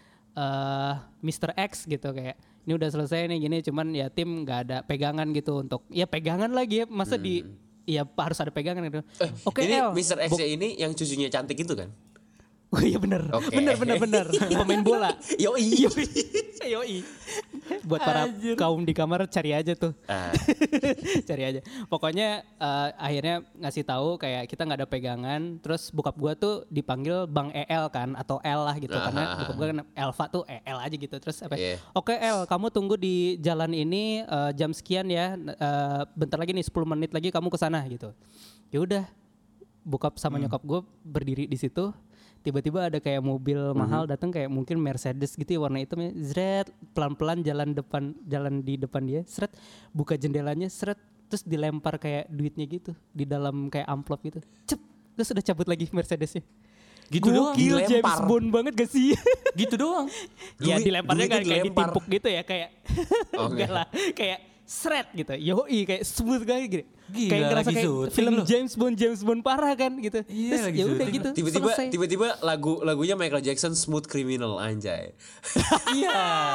Mr. X gitu, kayak ini udah selesai nih gini, cuman ya tim nggak ada pegangan gitu untuk ya pegangan lagi ya, masa ya harus ada pegangan gitu. Oke, ini El. Mr. X ini yang cucunya cantik itu kan? Oh iya bener, Oke. bener. Pemain bola. Yoi. Yoi. Buat para kaum di kamar cari aja tuh. Cari aja. Pokoknya akhirnya ngasih tahu kayak kita nggak ada pegangan. Terus bokap gua tuh dipanggil Bang EL kan, atau El lah gitu, karena bokap gua kan Elva tuh EL aja gitu. Terus apa? Yeah. Oke El, kamu tunggu di jalan ini jam sekian ya. Bentar lagi nih 10 menit lagi kamu kesana gitu. Ya udah. Bokap sama nyokap gua berdiri di situ. Tiba-tiba ada kayak mobil mahal datang, kayak mungkin Mercedes gitu ya, warna hitam ya, zret, pelan-pelan jalan di depan dia, seret, buka jendelanya, seret, terus dilempar kayak duitnya gitu di dalam kayak amplop gitu, cep, terus udah cabut lagi Mercedesnya. Gitu doang. Gokil, James Dilempar. Bond banget gak sih? Gitu doang. Ya Duit- dilemparnya duitnya kan kayak dilempar. ditimpuk gitu ya, kayak Oke. enggak lah, kayak seret gitu, yoi, kayak smooth banget gitu. Gila, Kayak ngerasa lagi kayak syuting film loh. James Bond parah kan gitu. Iya, Terus lagi ya udah syuting. gitu. selesai. Tiba-tiba lagunya Michael Jackson, Smooth Criminal, anjay. Iya.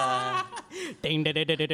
Ding,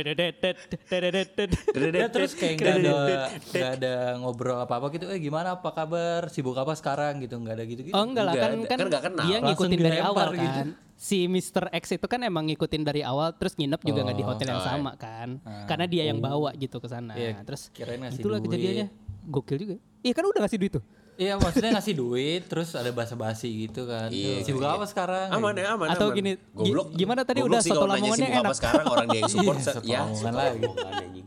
Ya terus kayak nggak ada ngobrol apa gitu. Gimana, apa kabar, sibuk apa sekarang gitu, nggak ada gitu. Oh enggak lah, Nggak kan ada, kan kan nggak kenal. dia Langsung ngikutin dari dilempar awal kan. gitu. Si Mr. X itu kan emang ngikutin dari awal, terus nginep juga nggak di hotel yang sama kan. Karena dia yang bawa gitu ke sana. Iya, Terus kirain ngasih itulah duit. kejadiannya. Gokil juga. Iya kan udah ngasih duit tuh. Iya maksudnya ngasih duit, terus ada basa-basi gitu kan. Iya. Sibuk apa sekarang? Aman ya, aman. Atau aman. gini, Goblok, gimana tadi goblok udah sih soto kalau nanya Lamongannya sibuk apa enak. sekarang orang dia yang support Iya, soto ya. Lamongan soto lagi. Lamongan, anjing.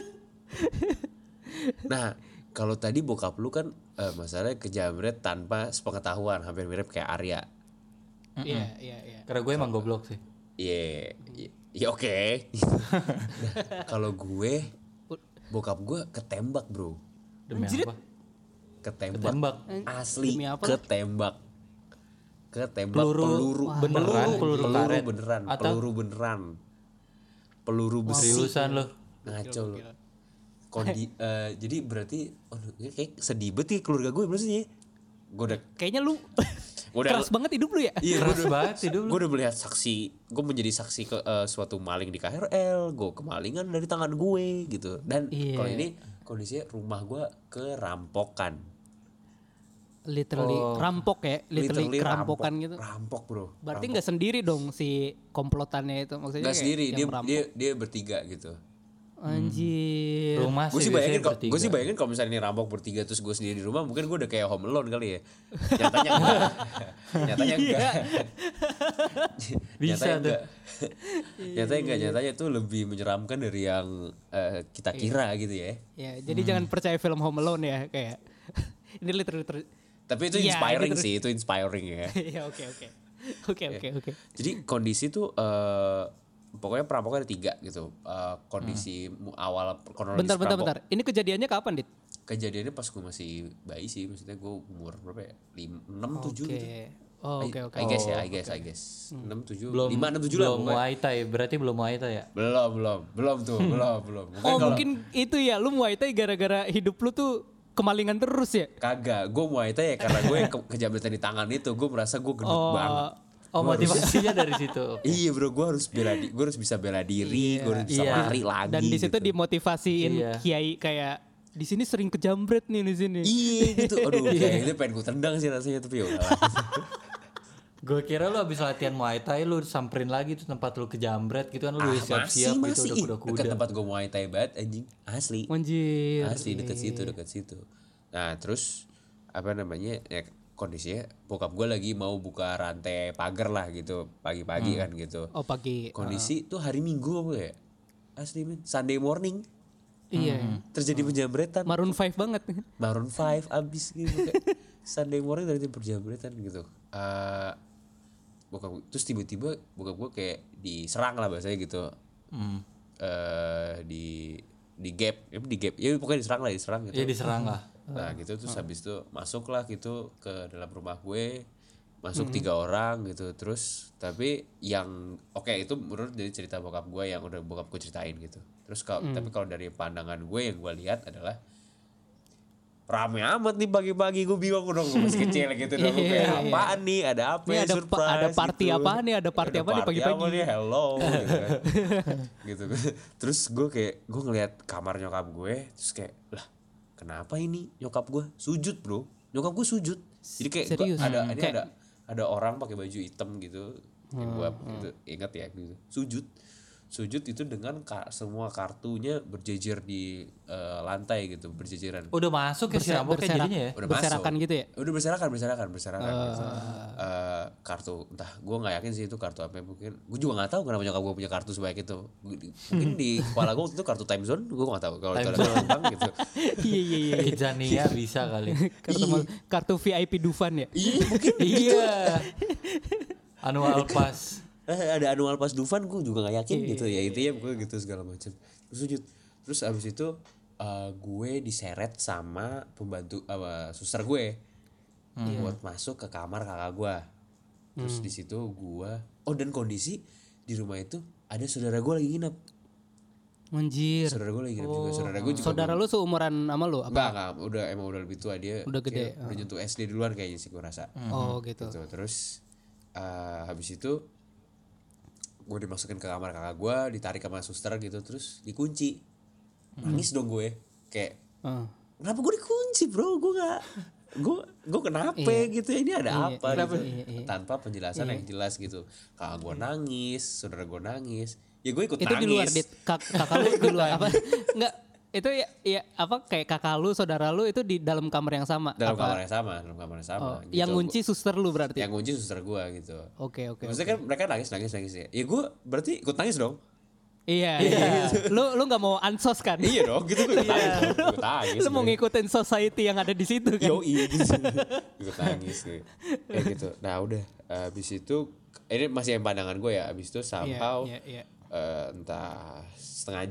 Nah, kalau tadi bokap lu kan masalahnya kejamret tanpa sepengetahuan, hampir mirip kayak Arya. Iya. Karena gue emang goblok sih. Iya, iya oke. Nah, kalau gue, bokap gue ketembak bro, Demi Anjir. apa? ketembak. Asli Demi apa? ketembak. Peluru beneran? peluru Karet? beneran, Atau? peluru beneran, peluru besi. Seriusan lo? Ngaco lu. Jadi berarti kayak sedih banget ya keluarga gue maksudnya. Gue udah Kayaknya lu Udah- keras banget hidup lu ya. iya, Keras banget hidup lu. gue udah melihat gue menjadi saksi ke suatu maling di KRL, gue kemalingan dari tangan gue gitu. Dan Iya. kalau ini kondisinya rumah gue kerampokan. Literally rampok ya, literally kerampokan gitu. Rampok bro. Berarti nggak sendiri dong si komplotannya itu, maksudnya Nggak kayak sendiri, yang dia, merampok. dia bertiga gitu. Anjir. Rumah Gue sih biasanya bayangin bertiga. gue sih bayangin kalau misalnya ini rampok bertiga terus gue sendiri di rumah, mungkin gue udah kayak Home Alone kali ya. Nyatanya enggak. Nyatanya enggak. Bisa Nyatanya enggak. Nyatanya itu lebih menyeramkan dari yang kita kira gitu ya. Ya, jadi jangan percaya film Home Alone ya, kayak ini literally Tapi itu Iya, inspiring gitu. sih, itu inspiring ya. Iya, oke. Oke. Jadi kondisi tuh pokoknya perampoknya ada 3 gitu. Kondisi awal kronologis Bentar. Ini kejadiannya kapan, Dit? Kejadiannya pas gue masih bayi sih, maksudnya gue umur berapa ya? 6, 7 gitu. Oke. I guess. 6, 7, Belum 5, 6, 7 lah. belum Muay Thai, berarti belum Muay Thai ya? Belum tuh, belum. Mungkin itu ya, lu Muay Thai gara-gara hidup lu tuh kemalingan terus ya? Kagak, gue Muay Thai ya karena gue kejabatan di tangan itu, gue merasa gue gendut banget. Oh, motivasinya dari situ. Iya bro, gue harus bisa bela diri, gue harus bisa lari lagi. Dan di situ gitu. dimotivasiin Iya. kiai kayak di sini sering kejambret nih di sini. Iya gitu, aduh kayak itu pengen gue tendang sih rasanya, tapi ya udahlah. Gue kira lu abis latihan Muay Thai lu samperin lagi tuh tempat lu kejambret gitu kan, lu udah siap-siap gitu masih udah kuda-kuda. dekat tempat gue Muay Thai banget anjing, asli. Anjir. Asli dekat situ. Nah terus apa namanya ya, kondisinya bokap gue lagi mau buka rantai pagar lah gitu pagi-pagi kan gitu. Oh, pagi. Kondisi tuh hari Minggu apa ya, asli men, Sunday morning Iya. terjadi penjambretan. Maroon 5 banget. Maroon 5 abis gitu kayak Sunday morning terjadi penjambretan gitu. Bokap terus tiba-tiba bokap gue kayak diserang lah bahasanya gitu. Di gap ya pokoknya diserang gitu. Iya diserang lah. Nah gitu terus habis itu masuk lah gitu ke dalam rumah gue, masuk 3 orang gitu. Terus tapi yang itu menurut dari cerita bokap gue yang udah bokap gue ceritain gitu. Terus tapi kalau dari pandangan gue yang gue lihat adalah rame amat nih pagi-pagi, gue bingung dong, gue masih kecil gitu dong, gue kayak apaan nih, ada apa Ini ya, ada surprise ada party gitu. apa nih? Ada party apa nih pagi-pagi? Apa nih, hello gitu kan. Gitu. Terus gue ngeliat kamar nyokap gue, terus kayak lah kenapa ini nyokap gue sujud bro, nyokap gue sujud, jadi kayak Serius? ada orang pakai baju hitam gitu, yang gue gitu, ingat ya gitu, sujud itu dengan semua kartunya berjejer di lantai gitu, berjejeran. Udah masuk ya si rambutnya jadinya ya? Udah berserakan masuk. gitu ya? Udah berserakan gitu. Kartu entah gue nggak yakin sih itu kartu apa, mungkin gue juga nggak tahu kenapa nyokap gue punya kartu sebanyak itu. Mungkin di kepala gue waktu itu kartu time zone, gue nggak tahu kalau itu ada bank gitu. Iya. Kidzania bisa kali. Kartu VIP Dufan ya? Iya mungkin. Iya. Annual pass. Ada annual pass Dufan, gue juga nggak yakin gitu ya, intinya gue gitu segala macam. Terus sujud, terus abis itu gue diseret sama pembantu suster gue buat masuk ke kamar kakak gue. Terus di situ gue dan kondisi di rumah itu ada saudara gue lagi nginep. Anjir. Saudara gue lagi nginep juga. Saudara lu seumuran sama lu apa? Enggak, udah lebih tua dia. Udah gede. Udah nyentuh SD duluan kayaknya sih gue rasa. Oh gitu. Terus habis itu gue dimasukin ke kamar kakak gue, ditarik sama suster gitu, terus dikunci. Nangis dong gue, kayak kenapa gue dikunci bro, gue kenapa gitu ya, ini ada apa gitu. Tanpa penjelasan yang jelas gitu. Kakak gue nangis, saudara gue nangis, ya gue ikut Itu nangis. di luar, kakak lu di luar apa? Enggak, itu ya apa kayak kakak lu, saudara lu itu di dalam kamar yang sama? dalam kamar yang sama gitu. Yang ngunci suster lu berarti? Yang ngunci suster gue gitu. Oke. Maksudnya kan mereka nangis ya. Ya gue berarti ikut nangis dong. Iya. Lu nggak mau ansos kan? Iya dong, gitu gue ikut nangis. Lu mau ngikutin society yang ada di situ kan? Iya gitu. Ikut nangis kayak gitu. Nah udah, habis itu ini masih yang pandangan gue ya. Habis itu somehow entah setengah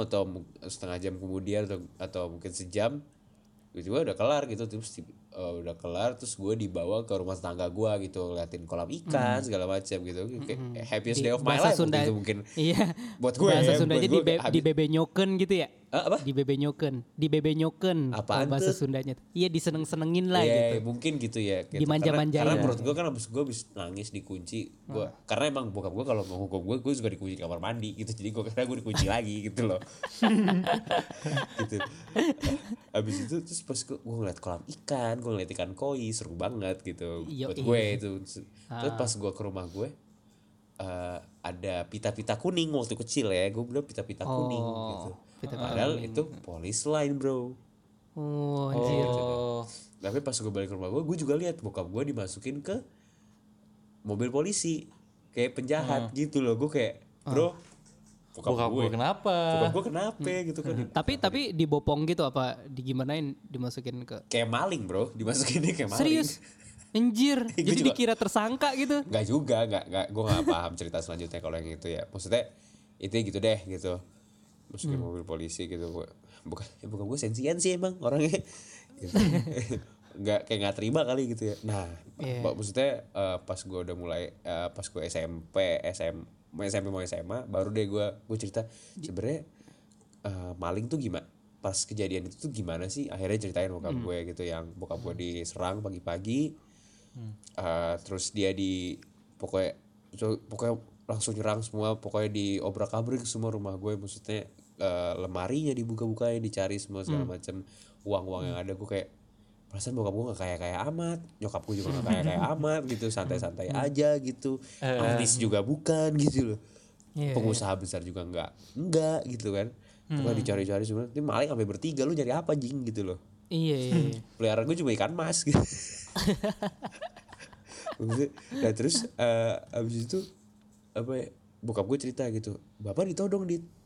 jam kemudian atau mungkin sejam, tiba-tiba udah kelar gitu. Terus gue dibawa ke rumah tetangga gue gitu, ngeliatin kolam ikan segala macam gitu, kayak happiest day of my life Sunda, gitu mungkin. Iya. Buat gue bahasa ya, Sundanya buat gue di bebenyoken gitu ya? Apa? Di bebenyoken. Apaan bahasa tuh? Sundanya. Iya, diseneng-senengin lah Iya, gitu. mungkin gitu ya. Gitu. Dimanja-manjain. Karena menurut gue kan abis gue nangis dikunci. Karena emang bokap gue kalau mau hukum gue juga dikunci kamar mandi gitu. Jadi gue dikunci lagi gitu loh. Gitu. Abis itu terus pas gue ngeliat kolam ikan, gue ngeliat ikan koi, seru banget gitu. Buat gue itu. Terus pas gue ke rumah gue, ada pita-pita kuning waktu kecil ya. Gue bilang pita-pita kuning gitu. Padahal itu police line bro. Oh anjir. Tapi pas gue balik ke rumah gue juga lihat bokap gue dimasukin ke mobil polisi kayak penjahat gitu loh. Gue kayak bro, Bokap gue kenapa? Bokap gue kenapa gitu kan. Tapi dibopong gitu apa digimanain dimasukin ke Kayak maling bro, dimasukinnya kayak maling. serius anjir jadi juga- dikira tersangka gitu. Nggak juga, gue nggak paham cerita selanjutnya kalau yang itu ya. Maksudnya itu gitu deh gitu. Masukin mobil polisi gitu. Bukan gue sensian sih emang orangnya. Gitu. Nggak terima kali gitu ya. Nah, maksudnya pas gue udah mulai pas gue SMP mau SMA baru deh gue cerita sebenarnya maling tuh gimana. Pas kejadian itu tuh gimana sih? Akhirnya ceritain bokap gue gitu yang bokap gue diserang pagi-pagi. Terus dia pokoknya langsung nyerang semua, pokoknya diobrak-abrik semua rumah gue, maksudnya lemarinya dibuka-bukain, dicari semua segala macam uang yang ada. Gue kayak perasaan bokap gue gak kaya amat, nyokap gue juga gak kaya amat gitu, santai-santai aja gitu, artis juga bukan gitu loh, pengusaha besar juga enggak gitu kan. Pokoknya dicari-cari semua, ini maling sampai bertiga, lu nyari apa jing gitu loh. Iya. Peliharaan gue cuma ikan mas gitu. Nah terus abis itu apa ya, bokap gue cerita gitu, bapak ditodong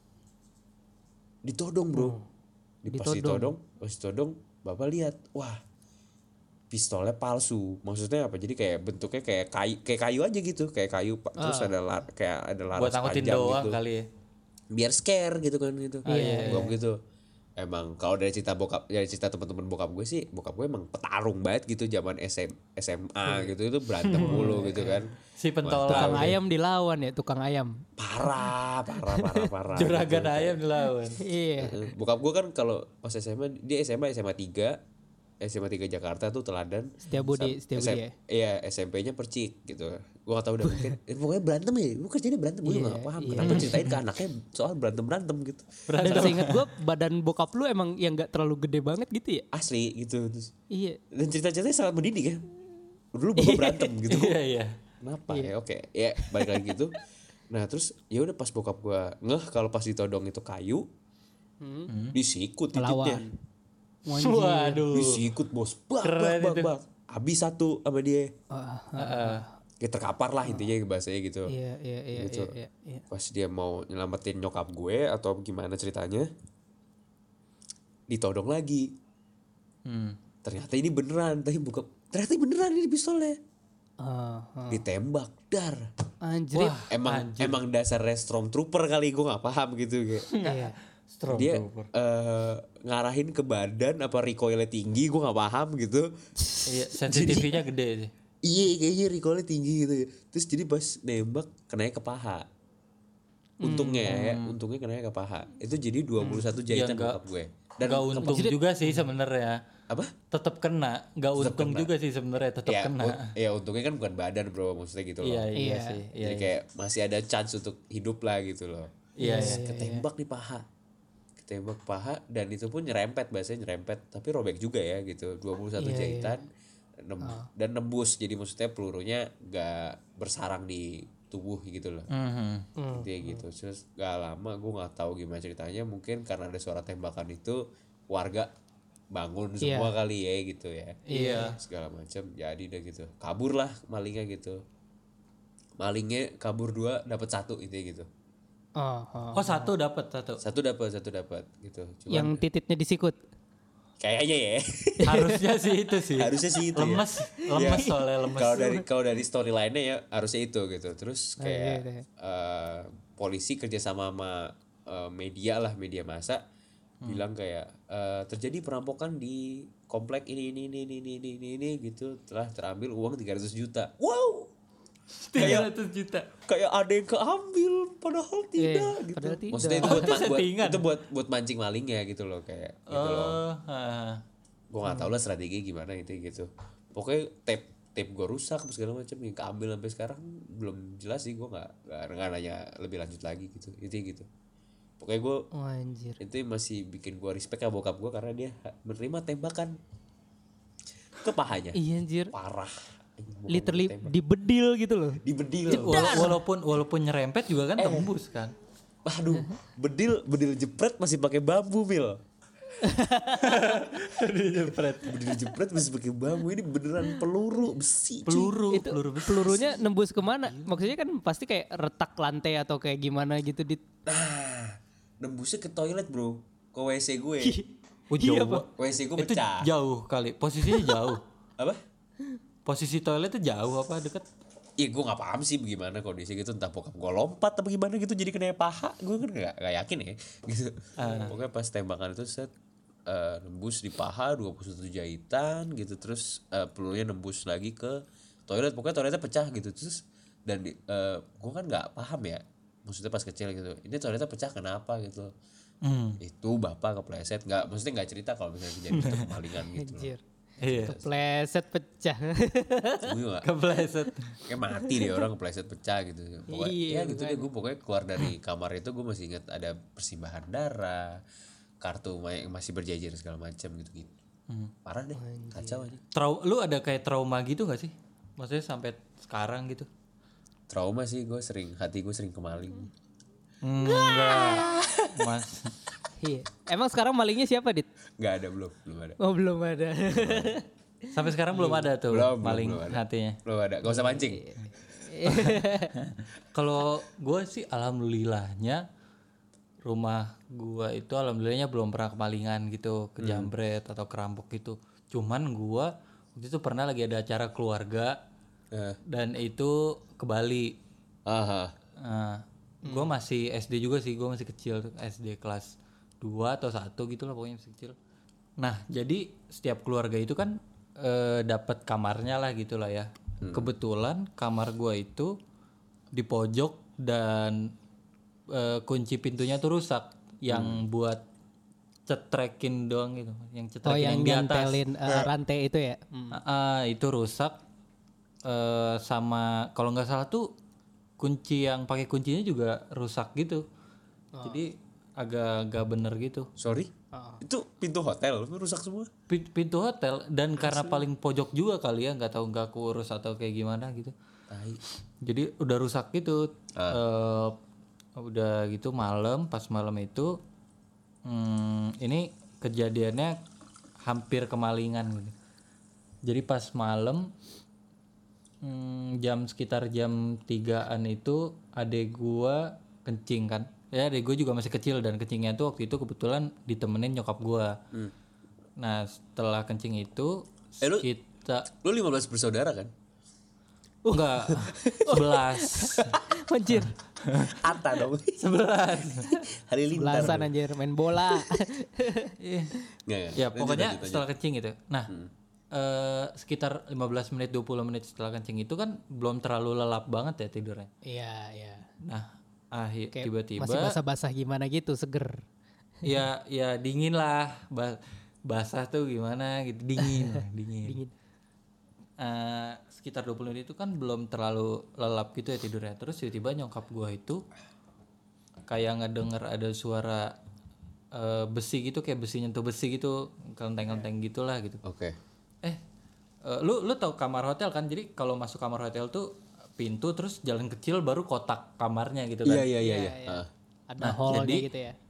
ditodong bro. Pas ditodong bapak lihat, wah pistolnya palsu. Maksudnya apa, jadi kayak bentuknya kayak kayu aja gitu, kayak kayu terus kayak ada laras Buat angkutin panjang doang gitu kali ya. biar scare gitu kan gitu. Bokap gitu. Emang kalau dari cerita teman-teman bokap gue sih, bokap gue emang petarung banget gitu zaman SMA gitu, itu berantem mulu gitu kan. Si pentol Tukang ayam dilawan ya, tukang ayam. Parah. juragan gitu. ayam dilawan. Iya. Bokap gue kan kalau pas SMA, dia SMA 3 Jakarta tuh teladan. Setiabudi ya. Iya, SMP-nya Percik gitu. Gue gak tau udah mungkin pokoknya berantem ya. Gue kerjanya berantem, gue gak paham kenapa ceritain ke anaknya soal berantem gitu. Dan seingat gue badan bokap lu emang yang gak terlalu gede banget gitu ya. Asli gitu. Terus, Iya. dan cerita-ceritanya sangat mendidik ya. Dulu bapak berantem gitu. Iya. Kenapa ya? Oke, ya balik lagi gitu. Nah terus ya udah pas bokap gue kalau pas ditodong itu kayu, disikut titiknya. Waduh. Disikut bos, bak. Habis satu sama dia. Kayak terkapar lah intinya bahasanya gitu. Iya. Gitu. Pas dia mau nyelamatin nyokap gue atau gimana ceritanya, ditodong lagi. Ternyata ini beneran, ternyata beneran ini pistolnya. Ditembak, dar. Anjir. Emang dasar Stormtrooper kali, gue nggak paham gitu kayak. Iya. Dia ngarahin ke badan apa recoilnya tinggi, gue nggak paham gitu. Iya, sensitivity-nya gede sih. Iya kayaknya recoilnya tinggi gitu. Terus jadi pas nembak kenanya ke paha. Untungnya kenanya ke paha. Itu jadi 21 jahitan bokap gue. Dan Gak untung juga sih sebenarnya. apa? Tetap kena. Gak untung juga sih sebenarnya, tetap kena. Ya untungnya kan bukan badan bro, maksudnya gitu loh. Iya sih. Jadi kayak masih ada chance untuk hidup lah gitu loh. Iya. Ketembak di paha. Ketembak paha dan itu pun nyerempet, bahasanya nyerempet, tapi robek juga ya gitu. 21 jahitan. Dan nembus, jadi maksudnya pelurunya gak bersarang di tubuh gitu loh. Intinya gitu. Terus gak lama gue gak tahu gimana ceritanya, mungkin karena ada suara tembakan itu warga bangun semua kali ya gitu ya. Iya. Segala macam jadi deh gitu. Kabur lah malingnya gitu. Malingnya kabur 2 dapat 1 intinya gitu. Oh satu dapat. Satu dapat gitu. Cuman Yang titiknya disikut. kayaknya ya. Harusnya sih itu sih. Harusnya sih itu. Lemes soalnya lemes. Kalau dari storyline-nya ya harusnya itu gitu. Terus kayak polisi kerja sama media masa bilang kayak terjadi perampokan di komplek ini gitu, telah terambil uang 300 juta. Wow. 300 juta. Kayak ada yang keambil padahal tidak gitu. Padahal tidak. Maksudnya itu settingan. buat mancing malingnya gitu loh, kayak gitu loh. Gue gak tau lah strategi gimana itu gitu. Pokoknya tape gue rusak segala macam, yang keambil sampai sekarang belum jelas sih. Gue nggak nanya lebih lanjut lagi gitu. Itu gitu. Pokoknya gue itu masih bikin gue respect ya bokap gue, karena dia menerima tembakan ke pahanya. Iya anjir. Parah. Literally dibedil gitu loh. Dibedil. Walaupun nyerempet juga kan tembus kan. Waduh, bedil jepret masih pakai bambu, Mil. Berdiri jepret masih pakai bambu, ini beneran peluru besi. cuy. Itu pelurunya nembus kemana? Maksudnya kan pasti kayak retak lantai atau kayak gimana gitu di. Nah, nembusnya ke toilet bro, ke WC gue. Oh, jauh. WC gue Itu pecah. jauh kali. Posisinya jauh. Apa? Posisi toilet itu jauh apa deket? Iya gue gak paham sih bagaimana kondisi gitu, entah bokap gue lompat atau gimana gitu jadi kena paha, gue kan gak yakin ya gitu. Pokoknya pas tembakan itu set nembus di paha 21 jahitan gitu, terus pelurunya nembus lagi ke toilet, pokoknya toiletnya pecah gitu. Terus dan gue kan gak paham ya, maksudnya pas kecil gitu, ini toiletnya pecah kenapa gitu. Itu bapak kepleset, maksudnya gak cerita kalau misalnya kejadian itu kemalingan gitu loh. Anjir. Iya. Kepleset pecah. Gue gak, Kepleset. kayak mati deh orang kepleset pecah gitu. Pokoknya Iya, ya gitu deh, gue pokoknya keluar dari kamar itu gue masih ingat ada persimbahan darah, kartu yang masih berjejer segala macam gitu. Parah deh, kacau aja. Lu ada kayak trauma gitu gak sih? Maksudnya sampai sekarang gitu? Trauma sih, hati gue sering kemaling. Enggak. Mas. Iya. Emang sekarang malingnya siapa, Dit? Gak ada, belum ada. Oh, belum ada. Sampai sekarang belum ada tuh maling belum ada. hatinya. Belum ada, gak usah mancing. Kalau gue sih alhamdulillahnya rumah gue itu alhamdulillahnya belum pernah kemalingan gitu, kejamret atau kerampok gitu. Cuman gue waktu itu pernah lagi ada acara keluarga dan itu ke Bali. Aha. Gue masih SD juga sih, gue masih kecil tuh, SD kelas 2 atau 1 gitu lah pokoknya masih kecil. Nah jadi setiap keluarga itu kan dapat kamarnya lah gitu lah ya. Kebetulan kamar gue itu di pojok dan kunci pintunya tuh rusak, yang buat cetrekin doang gitu, yang cetrekin yang di atas. nempelin rantai itu ya. Itu rusak. Sama kalau nggak salah tuh kunci yang pakai kuncinya juga rusak gitu. Jadi agak bener gitu. Sorry, itu pintu hotel rusak semua. Pintu hotel, dan karena paling pojok juga kali ya, nggak tahu nggak kurus atau kayak gimana gitu. Jadi udah rusak gitu. Udah gitu pas malam itu ini kejadiannya hampir kemalingan gitu. Jadi pas malam sekitar jam 3-an itu adek gua kencing kan. Ya adek gua juga masih kecil dan kencingnya tuh waktu itu kebetulan ditemenin nyokap gua. Nah setelah kencing itu kita Lu 15 bersaudara kan? enggak 11. Anjir. Atta dong. 11. Halilintar. Belasan anjir main bola. Nggak. Ya pokoknya Lanjut. setelah kencing gitu. Nah sekitar 15 menit 20 menit setelah kencing itu kan belum terlalu lelap banget ya tidurnya. Iya, iya. Nah Kayak tiba-tiba masih basah-basah gimana gitu, seger. ya dingin lah, basah tuh gimana gitu, dingin. Sekitar 20 menit itu kan belum terlalu lelap gitu ya tidurnya. Terus tiba-tiba nyokap gua itu kayak ngedenger ada suara besi gitu, kayak besi nyentuh besi gitu, kelenteng-kelenteng gitulah gitu. Oke. Lu tau kamar hotel kan? Jadi kalau masuk kamar hotel tuh pintu terus jalan kecil baru kotak kamarnya gitu kan. Iya. Ada hallnya jadi, gitu ya.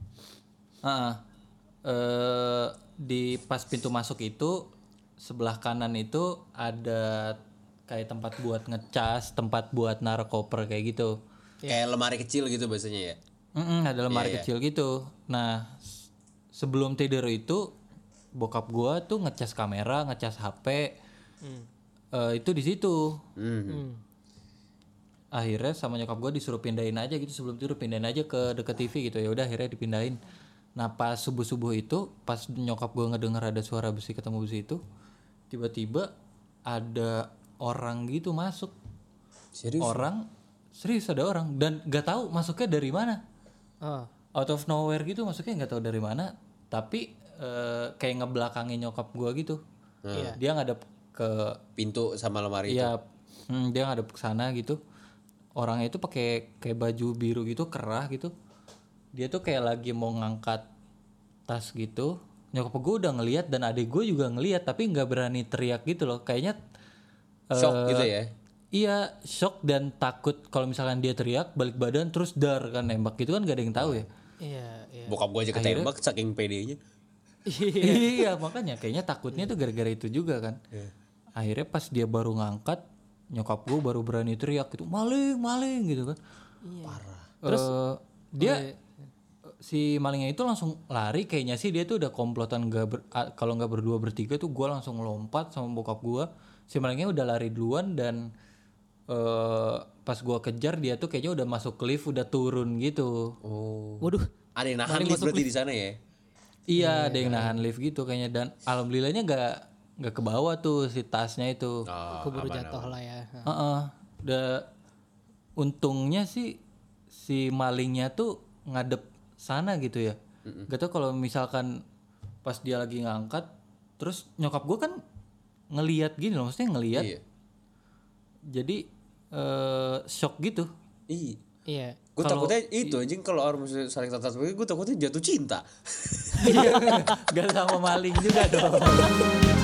Di pas pintu masuk itu sebelah kanan itu ada kayak tempat buat ngecas, tempat buat naruh koper kayak gitu. Kayak lemari kecil gitu biasanya ya. Ada lemari kecil gitu. Nah sebelum tidur itu bokap gua tuh ngecas kamera, ngecas HP. Itu di situ. Akhirnya sama nyokap gua disuruh pindahin aja gitu sebelum tidur, pindahin aja ke deket TV gitu. Ya udah akhirnya dipindahin. Nah pas subuh itu pas nyokap gua ngedenger ada suara besi ketemu besi itu, tiba-tiba ada orang gitu masuk. Serius ada orang dan nggak tahu masuknya dari mana. Out of nowhere gitu masuknya, nggak tahu dari mana. Tapi kayak ngebelakangin nyokap gua gitu. Dia ngadep ke Pintu sama lemari itu. Iya, dia ngadep ke sana gitu. Orangnya itu pakai kayak baju biru gitu, kerah gitu. Dia tuh kayak lagi mau ngangkat tas gitu. Nyokap gue udah ngelihat dan adik gue juga ngelihat, tapi nggak berani teriak gitu loh. Kayaknya Shock gitu ya. Iya, shock dan takut kalau misalkan dia teriak balik badan terus dar kan nembak gitu kan, gak ada yang tahu ya. Iya. Bokap gue aja ketembak saking pedenya. Iya makanya kayaknya takutnya tuh gara-gara itu juga kan. Akhirnya pas dia baru ngangkat, nyokap gue baru berani teriak gitu, maling gitu kan. Parah. Terus dia si malingnya itu langsung lari, kayaknya sih dia tuh udah komplotan kalau nggak berdua bertiga tuh gue langsung lompat sama bokap gue. Si malingnya udah lari duluan dan pas gue kejar dia tuh kayaknya udah masuk lift, udah turun gitu. Oh. Waduh. Ada yang nahan lift berarti di sana ya? Iya, ada yang nahan lift gitu kayaknya, dan alhamdulillahnya nggak ke bawah tuh si tasnya itu. Oh, Keburu jatuh lah ya. Untungnya sih si malingnya tuh ngadep sana gitu ya. Gak tau kalau misalkan pas dia lagi ngangkat, terus nyokap gue kan ngelihat gini loh, maksudnya ngelihat. Iya. Jadi shock gitu. Iya. Gue takutnya itu anjing kalau orang misalnya saling tatap gue takutnya jatuh cinta. Gak sama maling juga dong.